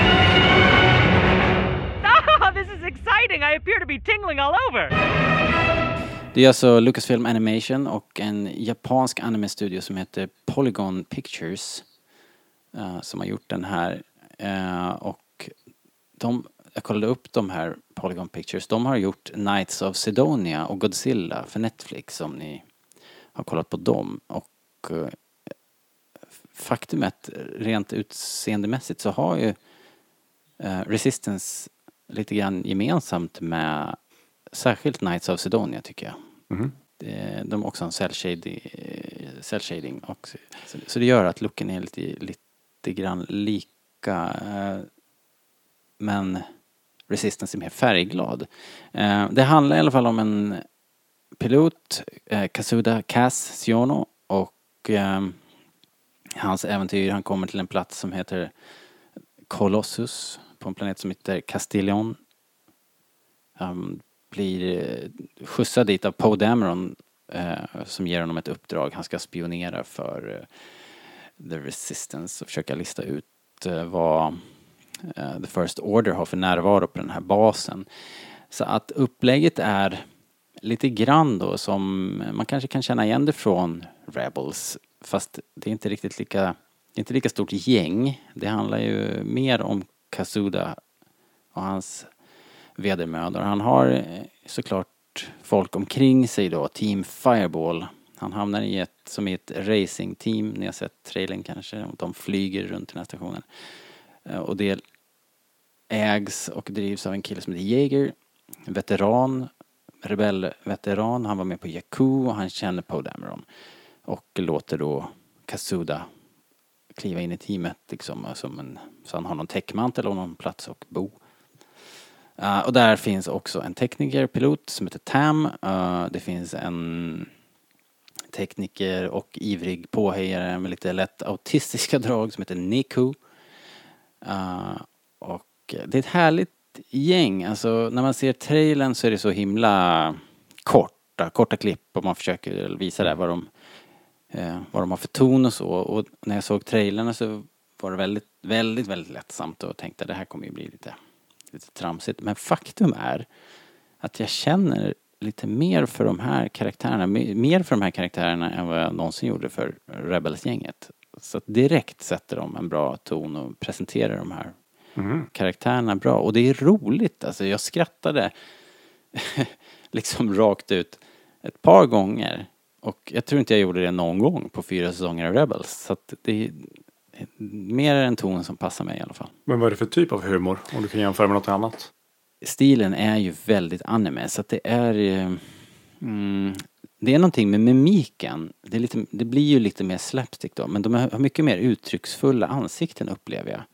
Oh, this is exciting! I appear to be tingling all over! Det är alltså Lucasfilm Animation och en japansk anime-studio som heter Polygon Pictures som har gjort den här. Och jag kollade upp de här Polygon Pictures. De har gjort Knights of Sidonia och Godzilla för Netflix, om ni har kollat på dem. Och faktumet, rent utseendemässigt, så har ju Resistance lite grann gemensamt med särskilt Knights of Sidonia, tycker jag. De har också en cell shading och så det gör att looken är lite grann lika, men Resistance är mer färgglad. Det handlar i alla fall om en pilot, Kazuda Kaz Siono, och hans äventyr. Han kommer till en plats som heter Colossus, på en planet som heter Castillon. Han blir skjutsad dit av Poe Dameron som ger honom ett uppdrag. Han ska spionera för The Resistance och försöka lista ut vad The First Order har för närvaro på den här basen. Så att upplägget är lite grann då som man kanske kan känna igen det från Rebels, fast det är inte riktigt lika stort gäng. Det handlar ju mer om Kazuda och hans vedermödor. Han har såklart folk omkring sig då, Team Fireball. Han hamnar i ett racingteam, ni har sett trailern kanske, de flyger runt den här stationen. Och det ägs och drivs av en kille som heter Jaeger, rebellveteran. Han var med på Jakku och han känner Poe Dameron och låter då Kazuda kliva in i teamet liksom, så han har någon täckmantel och någon plats och bo. Och där finns också en teknikerpilot som heter Tam. Det finns en tekniker och ivrig påhejare med lite lätt autistiska drag som heter Niku. Och det är ett härligt gäng. Alltså när man ser trailern så är det så himla korta klipp och man försöker visa där vad de har för ton och så. Och när jag såg trailern så var det väldigt, väldigt, väldigt lättsamt och tänkte att det här kommer ju bli lite tramsigt. Men faktum är att jag känner lite mer för de här karaktärerna än vad jag någonsin gjorde för Rebels-gänget. Så att direkt sätter de en bra ton och presenterar de här karaktärerna bra. Och det är roligt. Alltså jag skrattade liksom rakt ut ett par gånger. Och jag tror inte jag gjorde det någon gång på 4 säsonger av Rebels. Så att det är mer en ton som passar mig i alla fall. Men vad är det för typ av humor? Om du kan jämföra med något annat. Stilen är ju väldigt anime. Så att det är det är någonting med mimiken. Det blir ju lite mer slapstick då. Men de har mycket mer uttrycksfulla ansikten, upplever jag.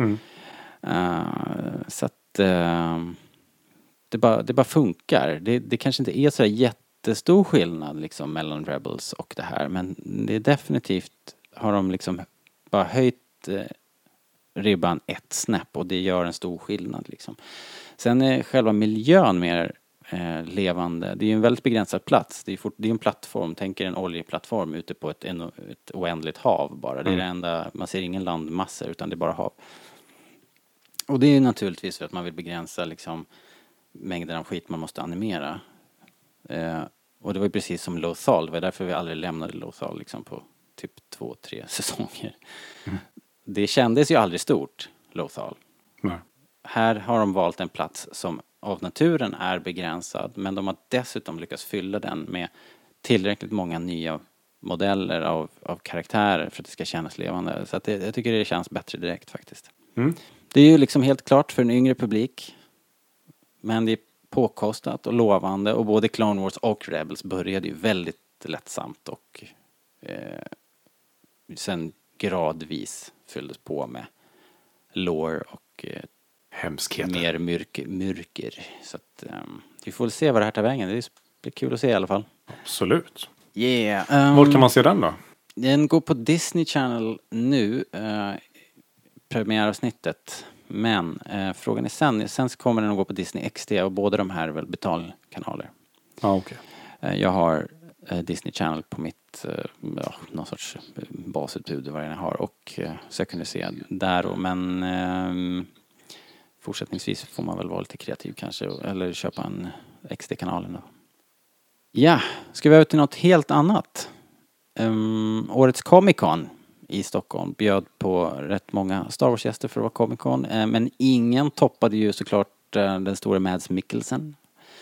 Så att det bara funkar. Det kanske inte är så jättestor skillnad liksom mellan Rebels och det här. Men det är definitivt, har de liksom bara höjt ribban ett snäpp och det gör en stor skillnad liksom. Sen är själva miljön mer levande. Det är ju en väldigt begränsad plats. Det är en plattform, tänker en oljeplattform ute på ett oändligt hav bara. Det är det enda, man ser ingen landmassa utan det är bara hav. Och det är naturligtvis för att man vill begränsa liksom mängden av skit man måste animera. Och det var ju precis som Lothal. Det var därför vi aldrig lämnade Lothal liksom på typ 2-3 säsonger. Det kändes ju aldrig stort, Lothal. Nej. Här har de valt en plats som av naturen är begränsad, men de har dessutom lyckats fylla den med tillräckligt många nya modeller av karaktärer för att det ska kännas levande. Så att jag tycker det känns bättre direkt faktiskt. Det är ju liksom helt klart för en yngre publik, men det är påkostat och lovande, och både Clone Wars och Rebels började ju väldigt lättsamt och sen gradvis fylldes på med lore och hemskheter. Mer mörker. Så att vi får se vad det här tar vägen. Det blir kul att se i alla fall. Absolut. Yeah. Var kan man se den då? Den går på Disney Channel nu, premiäravsnittet. Men frågan är sen så kommer den att gå på Disney XD, och båda de här är väl betalkanaler. Ja, okej. Jag har Disney Channel på mitt någon sorts basutbud vad jag har, och så jag kunde se där och, men fortsättningsvis får man väl vara lite kreativ kanske, eller köpa en XD-kanalen då. Ja, ska vi över till något helt annat. Årets Comic Con i Stockholm bjöd på rätt många Star Wars-gäster för att vara Comic Con, men ingen toppade ju såklart den stora Mads Mikkelsen.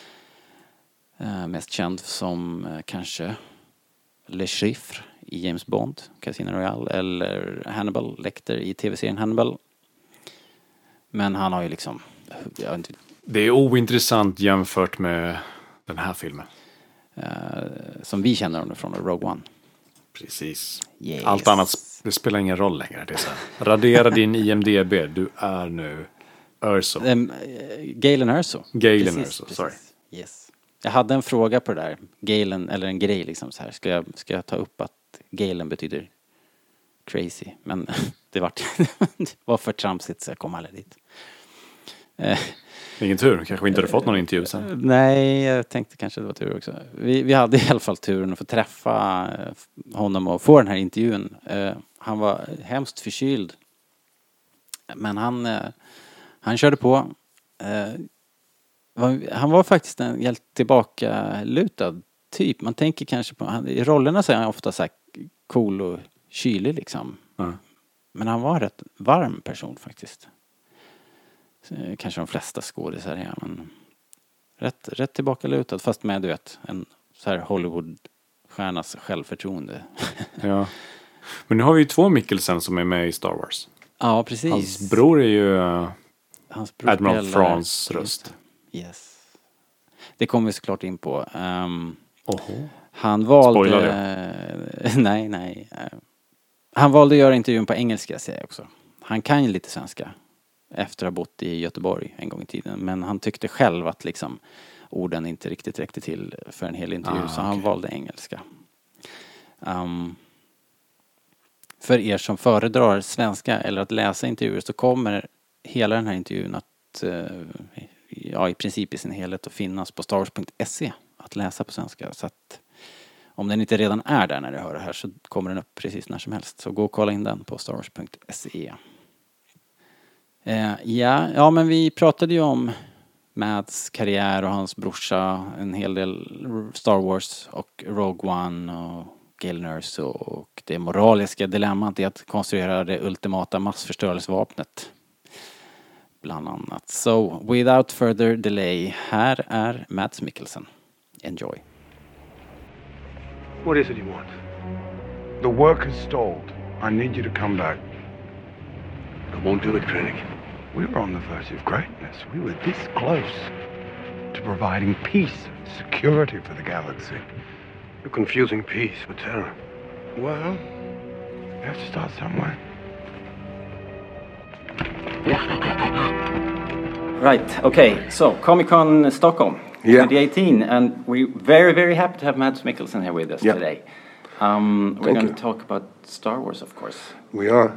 Mest känd som kanske Le Chiffre i James Bond, Casino Royale, eller Hannibal Lecter i tv-serien Hannibal. Men han har ju liksom... Det är ointressant jämfört med den här filmen. Som vi känner honom från Rogue One. Precis. Yes. Allt annat, det spelar ingen roll längre. Det är så här. Radera din IMDb, du är nu Erso. Galen Erso. Galen Erso, sorry. Yes. Jag hade en fråga på det där. Galen, eller en grej liksom så här. Ska jag ta upp att Galen betyder crazy? Men det var för tramsigt så jag kom aldrig dit. Ingen tur, kanske inte hade fått någon intervju sen. Nej, jag tänkte kanske det var tur också. Vi hade i alla fall turen att få träffa honom och få den här intervjun. Han var hemskt förkyld. Men han körde på. Han var faktiskt en helt tillbakalutad typ. Man tänker kanske på... I rollerna så är han ofta så här cool och kylig liksom. Men han var en rätt varm person faktiskt. Kanske de flesta skådisar är, men rätt tillbakalutad, fast med, du vet, en så här Hollywood-stjärnas självförtroende. Ja. Men nu har vi ju 2 Mikkelsen som är med i Star Wars. Ja, precis. Hans bror är ju Admiral Thrawns röst. Yes. Det kommer vi såklart in på. Han valde... Spoilar det? Nej. Han valde att göra intervjun på engelska, säger jag också. Han kan ju lite svenska. Efter att ha bott i Göteborg en gång i tiden. Men han tyckte själv att liksom orden inte riktigt räckte till för en hel intervju. Så han valde engelska. För er som föredrar svenska eller att läsa intervjuer, så kommer hela den här intervjun att i princip i sin helhet att finnas på starwars.se att läsa på svenska. Så att om den inte redan är där när du hör det här, så kommer den upp precis när som helst. Så gå och kolla in den på starwars.se. Ja, men vi pratade ju om Mads karriär och hans brorsa, en hel del Star Wars och Rogue One och Galen Erso, och det moraliska dilemmat i att konstruera det ultimata massförstörelsevapnet bland annat. So, without further delay, här är Mads Mikkelsen. Enjoy. What is it you want? The work has stalled. I need you to come back. I won't do it, Krennic. We were on the verge of greatness. We were this close to providing peace and security for the galaxy. You're confusing peace with terror. Well, you have to start somewhere. Right, okay, so Comic-Con Stockholm 2018, and we're very, very happy to have Mads Mikkelsen here with us today. We're going to talk about Star Wars, of course. We are.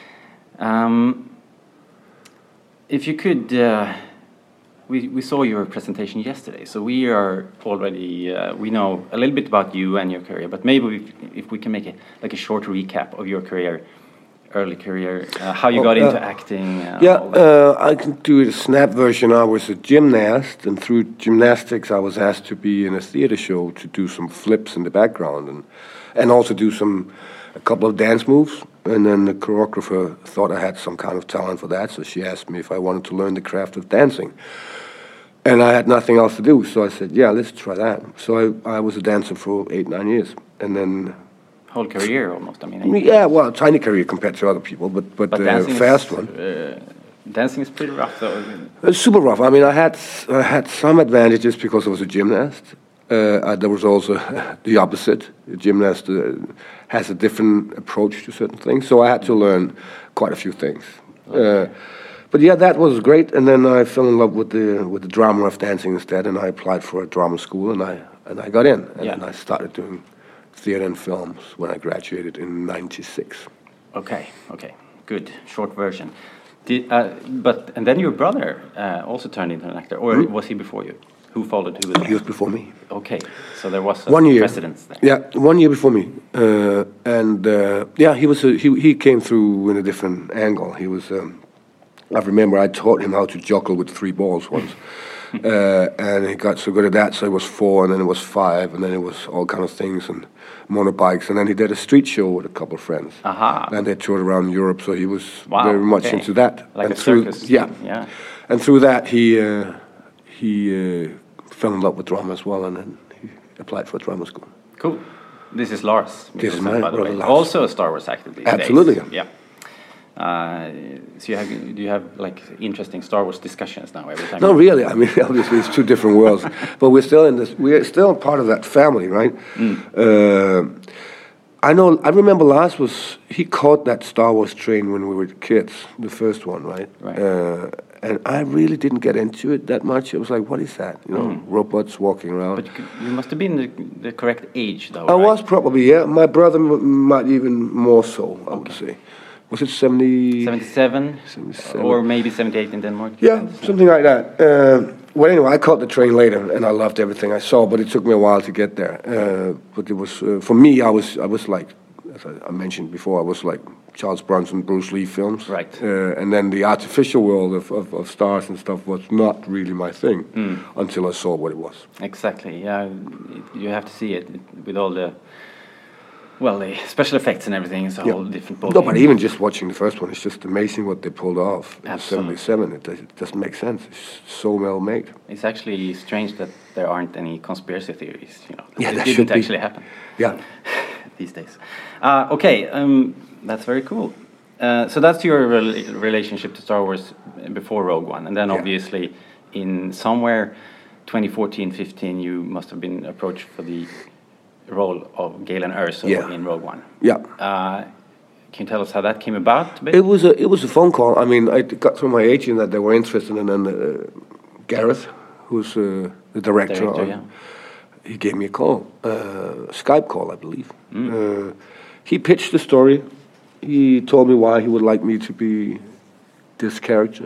If you could, we saw your presentation yesterday, so we are already, we know a little bit about you and your career, but maybe if we can make a short recap of your career early career, how you got into acting. I can do a snap version. I was a gymnast, and through gymnastics, I was asked to be in a theater show to do some flips in the background, and also do a couple of dance moves. And then the choreographer thought I had some kind of talent for that, so she asked me if I wanted to learn the craft of dancing. And I had nothing else to do, so I said, yeah, let's try that. So I was a dancer for 8-9 years, and then... Whole career, almost, I mean... Yeah, well, tiny career compared to other people, but fast one. Dancing is pretty rough, though. It's super rough. I mean, I had some advantages because I was a gymnast. There was also the opposite. A gymnast has a different approach to certain things, so I had to learn quite a few things. But yeah, that was great. And then I fell in love with the drama of dancing instead, and I applied for a drama school, and I got in, and then I started doing theater and films when I graduated in '96. Okay, good, short version. And then your brother also turned into an actor, or was he before you? Who followed who? He was before me. Okay, so there was 1 year precedence there. Yeah, 1 year before me, he came through in a different angle. He was. I remember I taught him how to juggle with 3 balls once, and he got so good at that. So it was 4, and then it was 5, and then it was all kind of things and motorbikes, and then he did a street show with a couple of friends. And they toured around Europe, so he was very much into that. Like and a circus. Yeah. And through that, he fell in love with drama as well, and then he applied for a drama school. Cool. This is Lars. This is my brother Lars. Also a Star Wars actor these days. Absolutely. Yeah. So do you have like interesting Star Wars discussions now every time? No, really. I mean, obviously it's 2 different worlds, but we're still in this. We're still part of that family, right? I remember Lars he caught that Star Wars train when we were kids, the first one, right? And I really didn't get into it that much. It was like, what is that? You know, robots walking around. But you must have been the correct age, though. I was probably, yeah. My brother might even more so, I would say. Was it 77? Or maybe 78 in Denmark? Yeah, something like that. Well, anyway, I caught the train later, and I loved everything I saw, but it took me a while to get there. But it was, for me, I was like, as I mentioned before, I was like Charles Bronson, Bruce Lee films. Right. And then the artificial world of stars and stuff was not really my thing until I saw what it was. Exactly, yeah. You have to see it with all the... Well, the special effects and everything is a whole different ballgame. No, but even just watching the first one, it's just amazing what they pulled off in '77. It doesn't make sense. It's so well made. It's actually strange that there aren't any conspiracy theories. You know, yeah, it that didn't actually happen. Yeah, these days. Okay, that's very cool. So that's your relationship to Star Wars before Rogue One, and then obviously in somewhere 2014-15, you must have been approached for the role of Galen Erso in Rogue One. Yeah. Can you tell us how that came about? It was a phone call. I mean, I got through my agent that they were interested, and then Gareth, who's the director, he gave me a call, Skype call, I believe. He pitched the story. He told me why he would like me to be this character,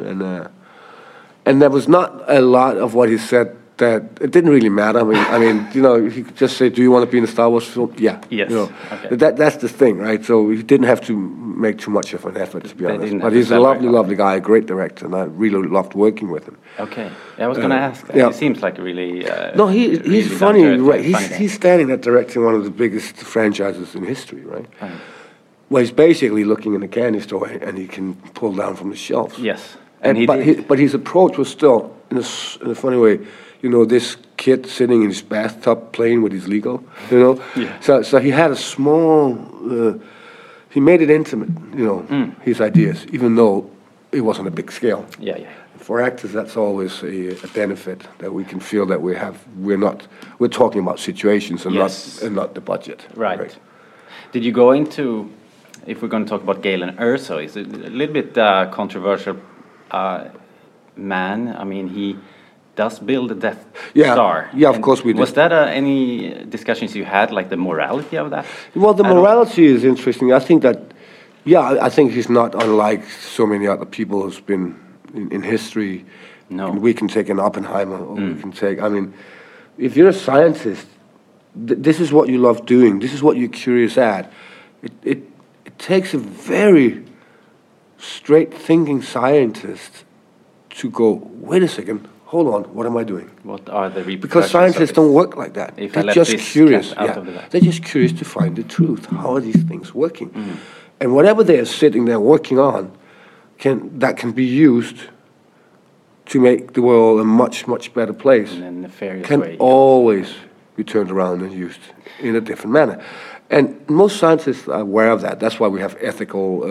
and there was not a lot of what he said that it didn't really matter. I mean, you know, he could just say, "Do you want to be in a Star Wars film?" Yeah. Yes. You know, okay. That's the thing, right? So he didn't have to make too much of an effort, to be honest. But he's a lovely guy, a great director, and I really loved working with him. Okay. Yeah, I was going to ask that. He seems like a really... no, he's really funny. Right? He's standing at directing one of the biggest franchises in history, right? Well, he's basically looking in a candy store, and he can pull down from the shelves. Yes. But his approach was still, in a funny way, you know, this kid sitting in his bathtub playing with his Lego, you know? Yeah. So he had a small, he made it intimate, you know, his ideas, even though it wasn't a big scale. Yeah, yeah. For actors, that's always a benefit, that we can feel that we're talking about situations and not the budget. Right. Did you go into, if we're going to talk about Galen Erso, is it a little bit controversial man? I mean, he does build a Death Star. Yeah, of course we did. Was that any discussions you had, like the morality of that? Well, the morality is interesting. I think that, I think he's not unlike so many other people who's been in history. No. We can take an Oppenheimer, or we can take, I mean, if you're a scientist, this is what you love doing. This is what you're curious at. It takes a very straight-thinking scientist to go, wait a second, hold on, what am I doing? What are the repercussions? Because scientists don't work like that. If They're just curious. They're just curious to find the truth. How are these things working? And whatever they are sitting there working on, that can be used to make the world a much, much better place. In a nefarious can way, always be turned around and used in a different manner. And most scientists are aware of that. That's why we have ethical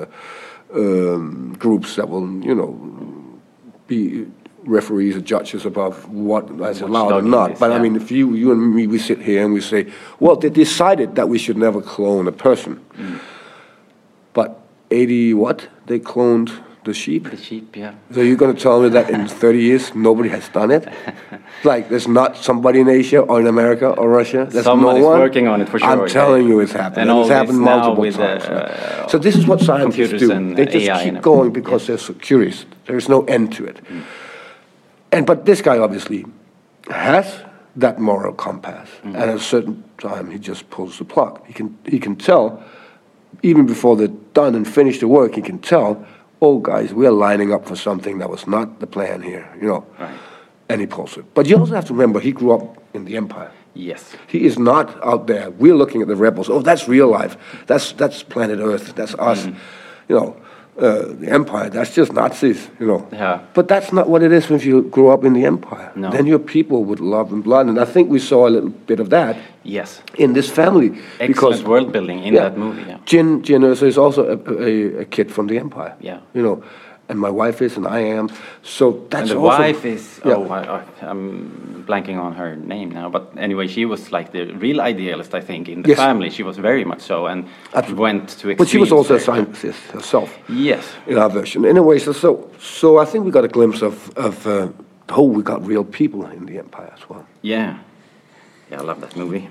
groups that will, be referees or judges above what is allowed or not. But I mean, if you and me, we sit here and we say, well, they decided that we should never clone a person. But 80 what? They cloned the sheep? The sheep, yeah. So you're going to tell me that in 30 years nobody has done it? Like there's not somebody in Asia or in America or Russia? There's Somebody's no one working on it for sure. I'm telling you it's happened. And it's happened multiple times. So this is what scientists do. They just AI keep going because they're so curious. There's no end to it. But this guy obviously has that moral compass. And at a certain time he just pulls the plug. He can tell, even before they're done and finished the work, he can tell, oh guys, we are lining up for something that was not the plan here, Right. And he pulls it. But you also have to remember, he grew up in the Empire. Yes. He is not out there. We're looking at the rebels. Oh, that's real life. That's planet Earth. That's us. The Empire, that's just Nazis, Yeah. But that's not what it is when you grow up in the Empire. No. Then you're people with love and blood. And I think we saw a little bit of that in this family. Excellent world building in that movie, Jin Erso is also a kid from the Empire. Yeah. And my wife is, and I am. So that's and the also, wife is. I'm blanking on her name now. But anyway, she was like the real idealist, I think, in the family. She was very much so, and went to extremes. But she was also a scientist herself. Yes. In our version. Anyway, so I think we got a glimpse of we got real people in the Empire as well. Yeah. Yeah, I love that movie.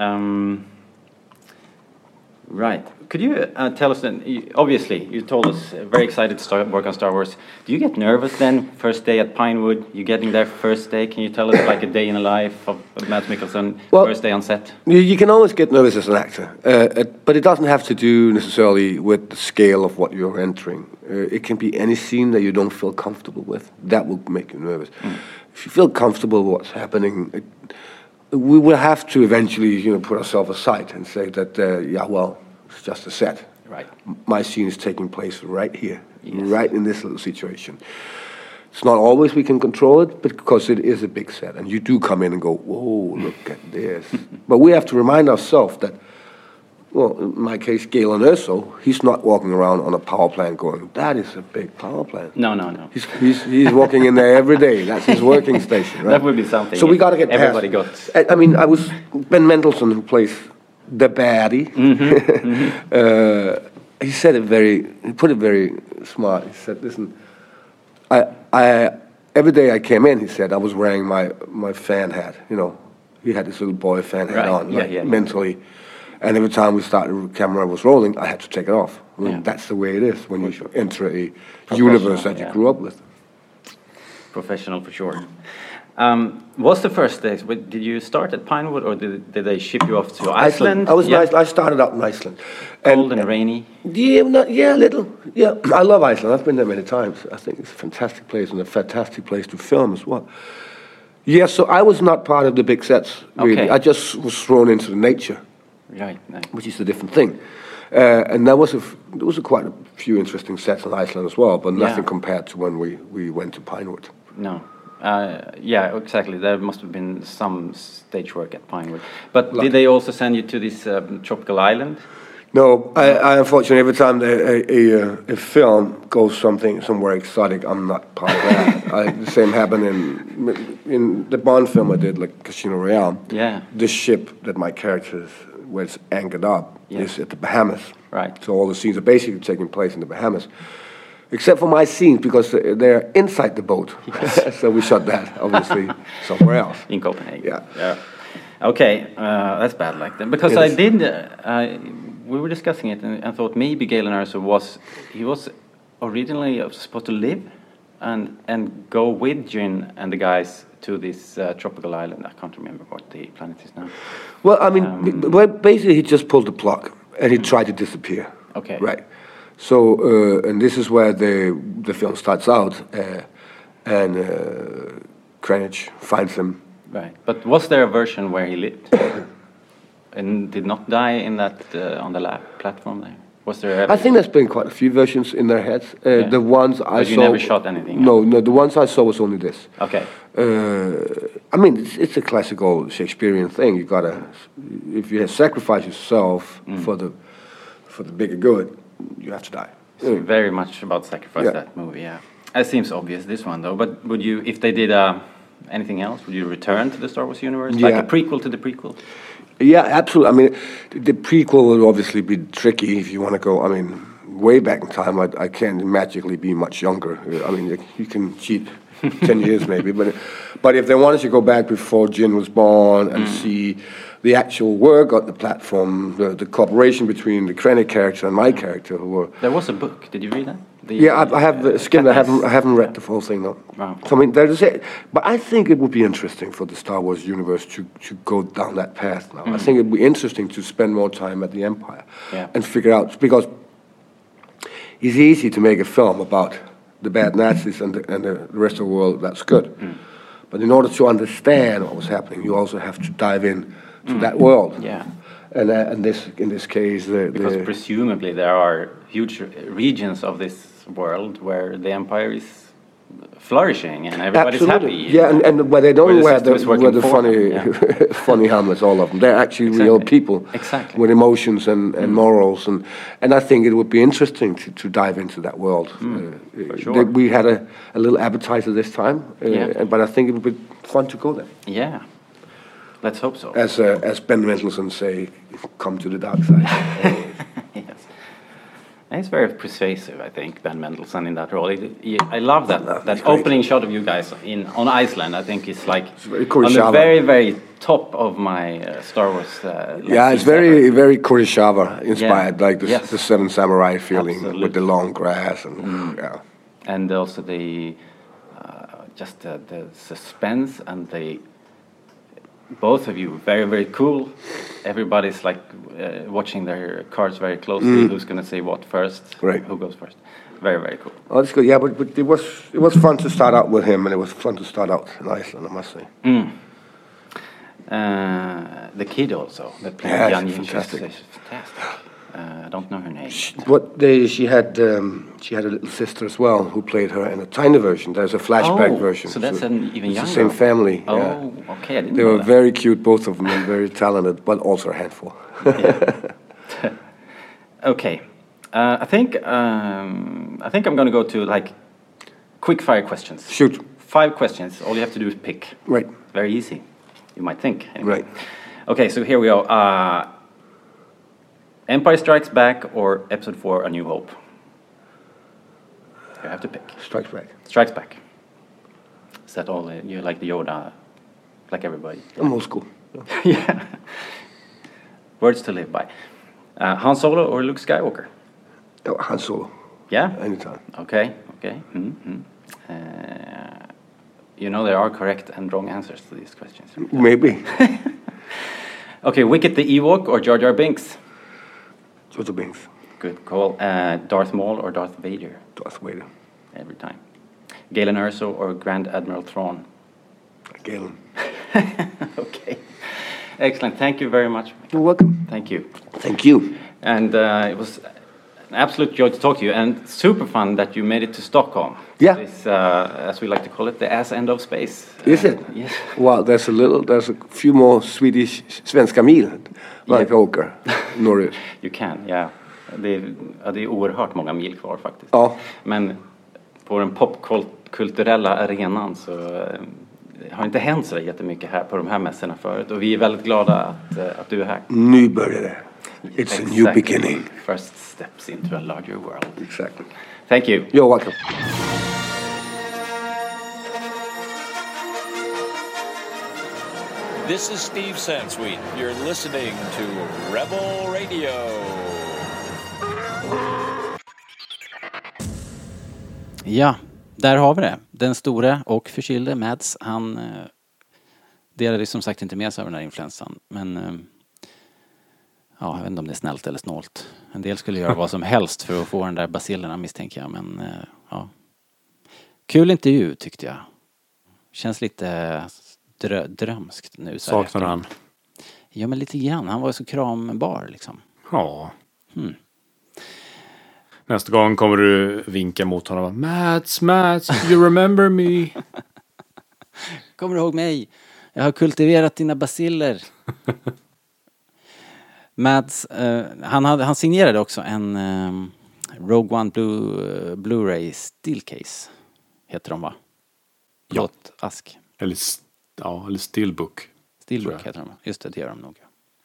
Right. Could you tell us then, obviously, you told us very excited to start work on Star Wars. Do you get nervous then, first day at Pinewood? You getting there first day? Can you tell us like a day in the life of Mads Mikkelsen, first day on set? You can always get nervous as an actor, but it doesn't have to do necessarily with the scale of what you're entering. It can be any scene that you don't feel comfortable with. That will make you nervous. If you feel comfortable with what's happening, we will have to eventually, put ourselves aside and say that, it's just a set. Right. My scene is taking place right here, right in this little situation. It's not always we can control it, but because it is a big set, and you do come in and go, whoa, look at this. But we have to remind ourselves that, well, in my case, Galen Erso, he's not walking around on a power plant going, that is a big power plant. No. He's walking in there every day. That's his working station, right? That would be something. So we got to get everybody past. I mean, I was Ben Mendelsohn, who plays the baddie. He said he put it very smart. He said, listen, I every day I came in, he said, I was wearing my fan hat, He had this little boy fan hat on, mentally. And every time the camera was rolling, I had to take it off. I mean, that's the way it is when you enter a universe that you grew up with. Professional for sure. What's the first day? Did you start at Pinewood, or did they ship you off to Iceland? I started out in Iceland. Cold and rainy? Yeah, a little. Yeah, I love Iceland. I've been there many times. I think it's a fantastic place and a fantastic place to film as well. Yeah, so I was not part of the big sets, really. Okay. I just was thrown into the nature. Right. Which is a different thing. And there was quite a few interesting sets in Iceland as well, but nothing compared to when we went to Pinewood. No. Yeah, exactly. There must have been some stage work at Pinewood. But did they also send you to this tropical island? No, I unfortunately, every time a film goes somewhere exotic, I'm not part of that. The same happened in the Bond film I did, like Casino Royale. Yeah. The ship that my character was anchored up is at the Bahamas. Right. So all the scenes are basically taking place in the Bahamas. Except for my scenes, because they're inside the boat. Yes. So we shot that, obviously, somewhere else. In Copenhagen. Yeah. Okay, that's bad like that. Because we were discussing it and thought maybe Galen Erso was originally supposed to live and go with Jin and the guys to this tropical island. I can't remember what the planet is now. Well, I mean, basically he just pulled the plug and he tried to disappear. Okay. Right. So, and this is where the film starts out, and Krennic finds him. Right, but was there a version where he lived and did not die in that on the platform there? Was there? I think there's been quite a few versions in their heads. The ones I saw. You never shot anything. No, the ones I saw was only this. Okay. I mean, it's a classical Shakespearean thing. You gotta, if you sacrifice yourself for the bigger good, you have to die. So very much about sacrifice, that movie, yeah. It seems obvious, this one, though. But would you, if they did anything else, would you return to the Star Wars universe? Like a prequel to the prequel? Yeah, absolutely. I mean, the prequel will obviously be tricky if you want to go, I mean, way back in time. I can't magically be much younger. I mean, you can cheat 10 years maybe. But if they wanted to go back before Jyn was born and see the actual work on the platform, the cooperation between the Krennic character and my character, who were... There was a book. Did you read that? I have skimmed. I haven't read the full thing, no. Wow. So, I mean, but I think it would be interesting for the Star Wars universe to go down that path now. I think it would be interesting to spend more time at the Empire and figure out, because it's easy to make a film about the bad Nazis and the rest of the world that's good. But in order to understand what was happening, you also have to dive in to that world. Yeah. And in this case, because presumably there are huge regions of this world where the Empire is flourishing and everybody's happy. Yeah, and where they don't wear the funny funny helmets, all of them. They're actually real people with emotions and morals, and I think it would be interesting to dive into that world. For sure. We had a little appetizer this time, but I think it would be fun to go there. Yeah. Let's hope so. As Ben Mendelsohn say, come to the dark side. Yes. And he's very persuasive, I think, Ben Mendelsohn in that role. I love that opening shot of you guys on Iceland. I think it's like on the very, very top of my Star Wars. It's very, very Kurosawa inspired, like the Seven Samurai feeling with the long grass and and also the just the suspense and the. Both of you, very, very cool. Everybody's like watching their cards very closely. Who's going to say what first? Right. Who goes first? Very, very cool. Oh, that's good. Yeah, but it was fun to start out with him, and it was fun to start out in Iceland, I must say. The kid also that played Jan fantastic. Is fantastic. I don't know her name. She had a little sister as well who played her in a tiny version. There's a flashback version. So that's an even younger. It's the same family. Oh, okay. I didn't know They were that. very cute, both of them, and very talented, but also a handful. Okay, I think I'm going to go to like quick fire questions. Shoot. 5 questions. All you have to do is pick. Right. Very easy. You might think. Anyway. Right. Okay, so here we go. Empire Strikes Back or Episode 4: A New Hope? You have to pick. Strikes Back. Strikes Back. Is that all? You like the Yoda, like everybody? I'm old school. Yeah. Words to live by. Han Solo or Luke Skywalker? Oh, Han Solo. Yeah? Anytime. Okay. You know there are correct and wrong answers to these questions. Maybe. Okay, Wicket the Ewok or Jar Jar Binks? Jar Jar Binks. Good call. Darth Maul or Darth Vader? Darth Vader. Every time. Galen Erso or Grand Admiral Thrawn? Galen. Okay. Excellent. Thank you very much. You're welcome. Thank you. Thank you. And it was an absolute joy to talk to you, and super fun that you made it to Stockholm. Yeah. This, as we like to call it, the ass end of space. Is it? Yes. Well, there's a few more Swedish svenska mil man kan åka norrut. You can, yeah. Det är oerhört många mil kvar faktiskt. Ja. Men på den popkulturella arenan så har inte hänt så jättemycket här på de här mässorna förut. Och vi är väldigt glada att du är här. Nybörjare. It's a new beginning. First steps into a larger world. Exactly. Thank you. You're welcome. This is Steve Sansweet. You're listening to Rebel Radio. Ja, där har vi det. Den stora och förkylde Mads, han delade som sagt inte med sig av den här influensan. Men Ja, jag vet inte om det är snällt eller snålt. En del skulle göra vad som helst för att få den där basillerna, misstänker jag. Men ja. Kul intervju tyckte jag. Känns lite drömskt nu. Saknar han? Ja, men lite grann. Han var ju så krambar liksom. Ja. Nästa gång kommer du vinka mot honom. Mats, you remember me? Kommer du ihåg mig? Jag har kultiverat dina basiller. Mads, han signerade också en Rogue One Blu-ray Steelcase. Heter de, va? Plåtask. Eller Steelbook. Steelbook heter de. Just det gör de nog.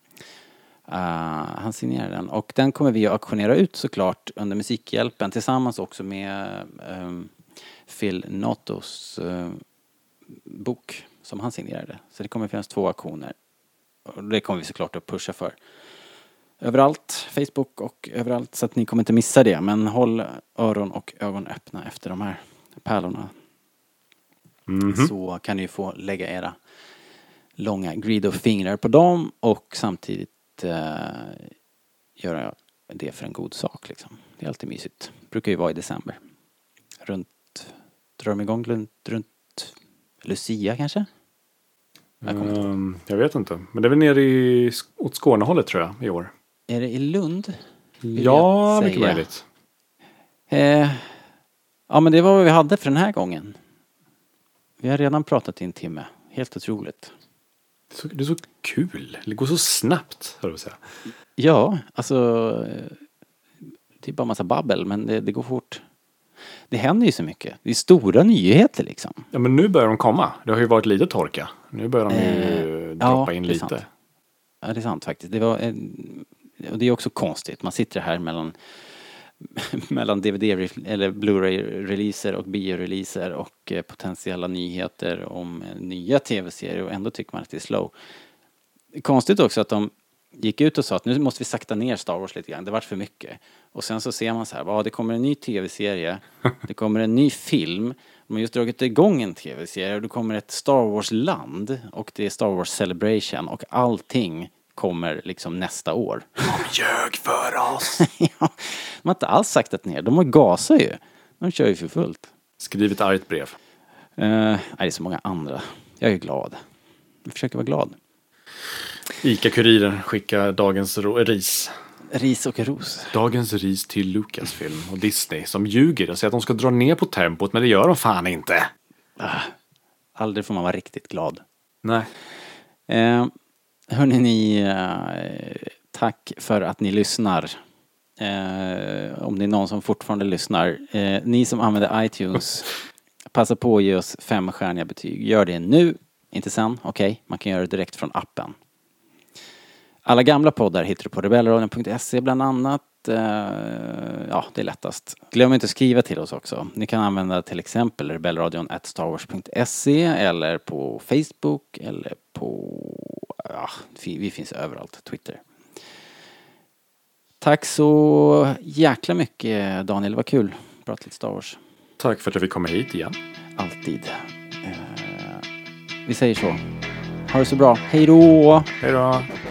Han signerade den. Och den kommer vi att auktionera ut såklart under Musikhjälpen. Tillsammans också med Phil Notos bok som han signerade. Så det kommer finnas 2 auktioner. Och det kommer vi såklart att pusha för. Överallt, Facebook och överallt, så att ni kommer inte missa det. Men håll öron och ögon öppna efter de här pärlorna. Så kan ni få lägga era långa Greedo-fingrar på dem och samtidigt göra det för en god sak liksom. Det är alltid mysigt. Brukar ju vara i december. Drar de igång runt Lucia kanske? Jag vet inte. Men det är väl nere åt Skånehållet tror jag i år. Är det i Lund? Ja, mycket möjligt. Ja, men det var vad vi hade för den här gången. Vi har redan pratat i en timme. Helt otroligt. Det är så kul. Det går så snabbt, hör du säga. Ja, alltså det är bara massa babbel, men det går fort. Det händer ju så mycket. Det är stora nyheter liksom. Ja, men nu börjar de komma. Det har ju varit lite torka. Nu börjar de ju droppa in lite. Sant. Ja, det är sant faktiskt. Och det är också konstigt. Man sitter här mellan DVD eller Blu-ray-releaser och bio-releaser och potentiella nyheter om nya tv-serier och ändå tycker man att det är slow. Det är konstigt också att de gick ut och sa att nu måste vi sakta ner Star Wars lite grann. Det var för mycket. Och sen så ser man så här, det kommer en ny tv-serie, det kommer en ny film, de har just dragit igång en tv-serie och det kommer ett Star Wars-land och det är Star Wars Celebration och allting kommer liksom nästa år. De ljög för oss. Ja, de har inte alls saktat ner. De har gasat ju. De kör ju för fullt. Skriv ett argt brev. Nej, det är så många andra. Jag är glad. Jag försöker vara glad. Ica-kuriren skickar dagens ris. Ris och ros. Dagens ris till Lucasfilm och Disney som ljuger och säger att de ska dra ner på tempot, men det gör de fan inte. Aldrig får man vara riktigt glad. Nej. Hörrni, tack för att ni lyssnar. Om det är någon som fortfarande lyssnar. Ni som använder iTunes, passa på att ge oss 5-stjärniga betyg. Gör det nu, inte sen. Okej, man kan göra det direkt från appen. Alla gamla poddar hittar du på rebellradion.se bland annat. Ja, det är lättast. Glöm inte att skriva till oss också. Ni kan använda till exempel rebellradion@starwars.se eller på Facebook eller på... Ja, vi finns överallt. Twitter. Tack så jäkla mycket, Daniel. Det var kul. Prata lite Star Wars. Tack för att jag fick komma hit igen. Alltid. Vi säger så. Ha det så bra. Hej då! Hej då!